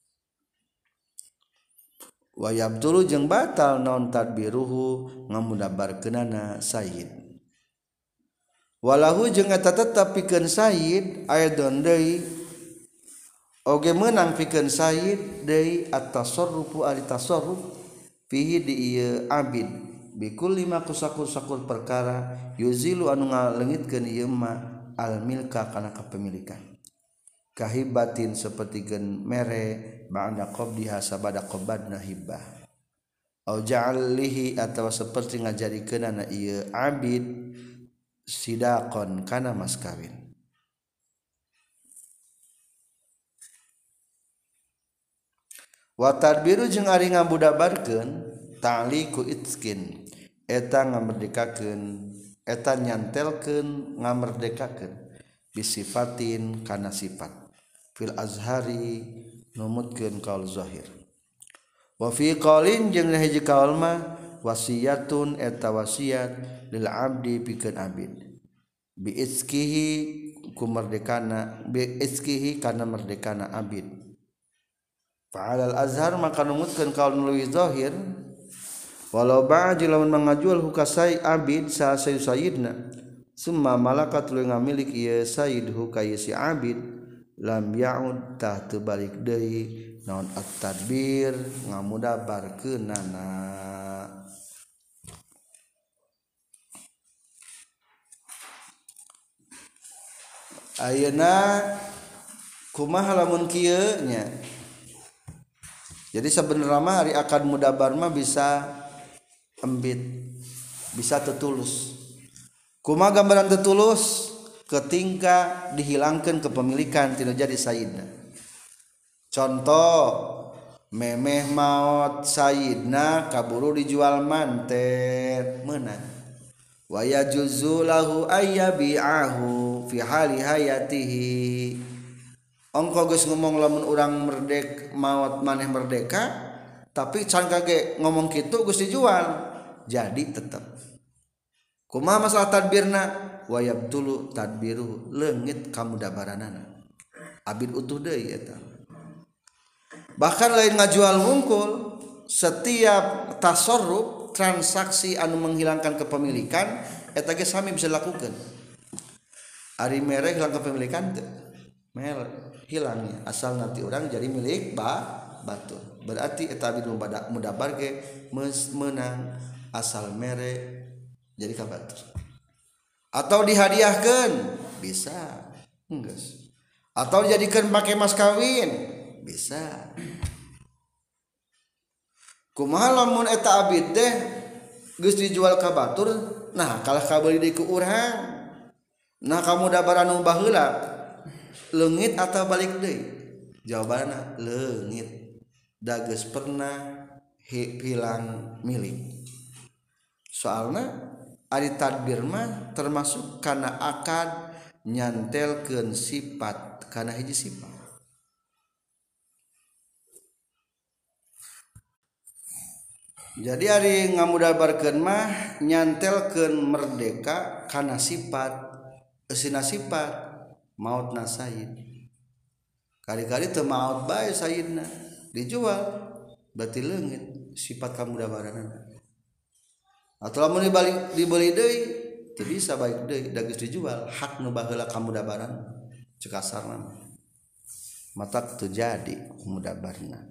wa yabtulu jeung batal naon tadbiruhu ngamudabarkeunana sayyid walahu jeung eta tetep pikeun sayyid aidon deui oge meunang pikeun sayyid deui at-tasarrufu ari tasarruf fihi di ieu abid bikulli ma kusakur-sakur perkara yuzilu anu ngaleungitkeun ieu ma al milka kana kapemilikan kahibatin sapertikeun mere ba'da qabdiha sabada qabadna hibah au ja'alihi atawa saperti ngajadikeunana ieu abid sidaqon kana mas kawin wa tadbiru jeung ari ngabudabarkeun ta'liqu itskin eta ngamerdekakeun eta nyantelkeun ngamerdekakeun bisifatin kana sifat fil azhari numutkeun qaul zahir wa fi qaulin jeung hiji qaul mah wasiyatun eta wasiat lil abdi pikeun abid bi iskihi ku merdekana bi iskihi kana merdekana abid fa al azhar maka numutkeun qaul leuwih zahir walau ba'ji lamun mangajual hukasai abid sa sayyidna summa malakat lu ngamilik ieu sayyid hukaya si abid lam ya'ud tah teu balik deui naon at-tadbir ngamudabarkeunana ayeuna kumaha lamun kieu nya jadi sabenerna mah ari akad mudabar mah bisa embit bisa tetulus kumaha gambaran tetulus ketika dihilangkan kepemilikan tidak jadi sayyidna contoh memeh maot sayyidna kaburu dijual manten meunang wa yajuzu lahu ayyabi'ahu fi hali hayatihi ongko geus ngomong lamun urang merdek maot maneh merdeka tapi can kage ngomong kitu geus dijual jadi tetep kumaha masalah tadbirna wa yabtulu tadbiru leungit kamudabaranana abid utuh deui eta bahkan lain ngajual hungkul setiap tasarruf transaksi anu menghilangkan kepemilikan eta ge sami bisa dilakukeun ari mere hilang kepemilikan teu mere hilangnya asal nanti orang jadi milik ba batur berarti eta abid mudabar ge meunang asal mere jadi ka batur atau dihadiahkan bisa enggeus atau dijadikan pakai mas kawin bisa kumaha lamun eta abid teh geus dijual ka batur nah kalah kabeuli deui ku urang nah kamudabaran nu baheula leungit atau balik deui jawabanna leungit dages pernah hilang milik. Soalna ari tadbir mah termasuk kana akad nyantelkeun sifat kana hiji sifat. Jadi ari ngamudabarkeun mah nyantelkeun merdeka kana sifat eusina sifat mautna sayyid. Kali-kali teu maot bae sayyidna dijual berarti leungit sifat kamudabaranna. Atau lamun dibalik dibeli deui teu bisa baik deui da geus dijual hak nu baheula kamudabaran ceuk kasarna mata teu jadi kamudabarna.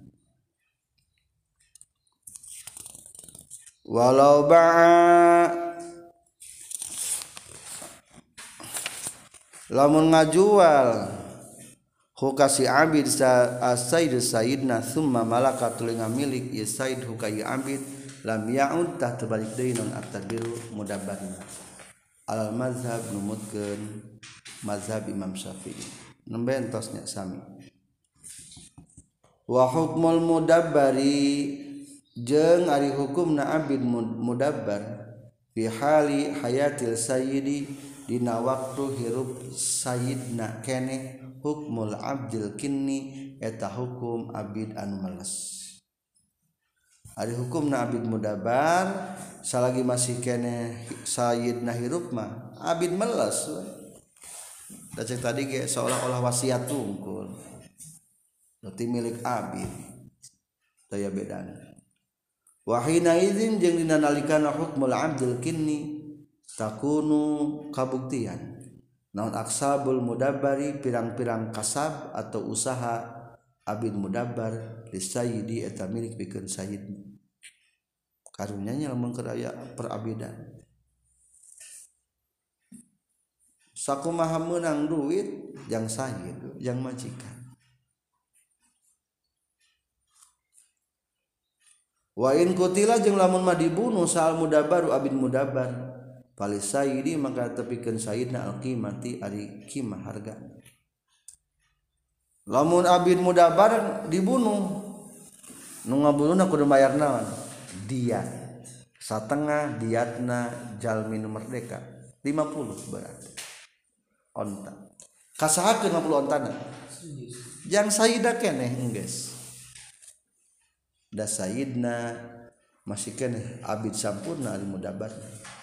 Walau ba'a lamun ngajual hukasi abid sa asaid sayyidna summa malaka tulinga milik ya sayyid hukai abid lam ya'ud tah terbalik deui non at-tadbiru mudabbarna al mazhab numutkeun mazhab Imam Syafi'i nembe entosnya sami. Wa hukmul mudabbari jeung ari hukumna abid mudabbar fi hali hayatil sayyidi dina waktu hirup sayyidna keneh hukmul abdil kinni eta hukum abid anu meles. Ari hukumna abid mudabbar salagi masih keneh sayyidna hirup mah abid meles we. Da cek tadi ge seolah-olah wasiat tungkul. Berarti milik abid. Daya bedana. Wa hina idzin jeung dina nalikana hukmul abdil kinni takunu kabuktian naon aksabul mudabbari pirang-pirang kasab atau usaha abid mudabbar li sayyidi eta milik pikeun sayyid karunyanya lamun keur aya perabidan sakumaha meunang duit jang sayyid jang majikan. Wa in kutila jeung lamun mah dibunuh saal mudabbaru abid mudabbar pali sayyidi maka tepikeun sayyidna al-qimati ari qimah harga. Lamun abid mudabbar dibunuh nu ngabunuhna kudu bayar naon? Diat. Satengah diatna jalmi nu merdeka lima puluh berarti. Onta. Kasahakeun lima puluh ontana. Jang sayyida keneh enggeus. Da sayyidna masih keneh abid sampurna ari mudabbar.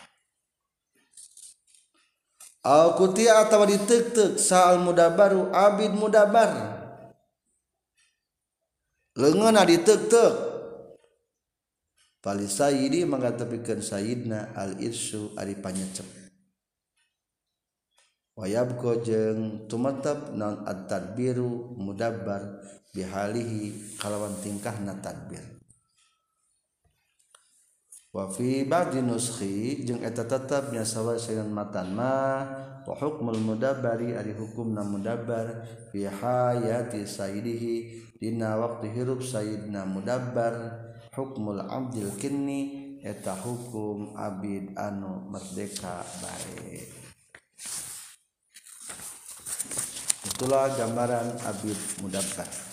Au kutia atawa diteuk-teuk saal mudabbaru abid mudabbar. Leungeunna diteuk-teuk. Pali sayyidi mangga tepikeun sayyidna al irsu ari panyecep. Wa yabqa jeung tumatab naon at-tadbiru mudabbar bihalihi kalawan tingkahna tadbir. Wa fi ba'di nuskhi jeung eta tetep nya sawa sayan matan ma wa hukmul mudabbari ari hukumna mudabbar fi hayati sayyidihi dina waktu hirup sayyidna mudabbar hukmul abdil kinni eta hukum abid anu merdeka bae. Itulah gambaran abid mudabbar.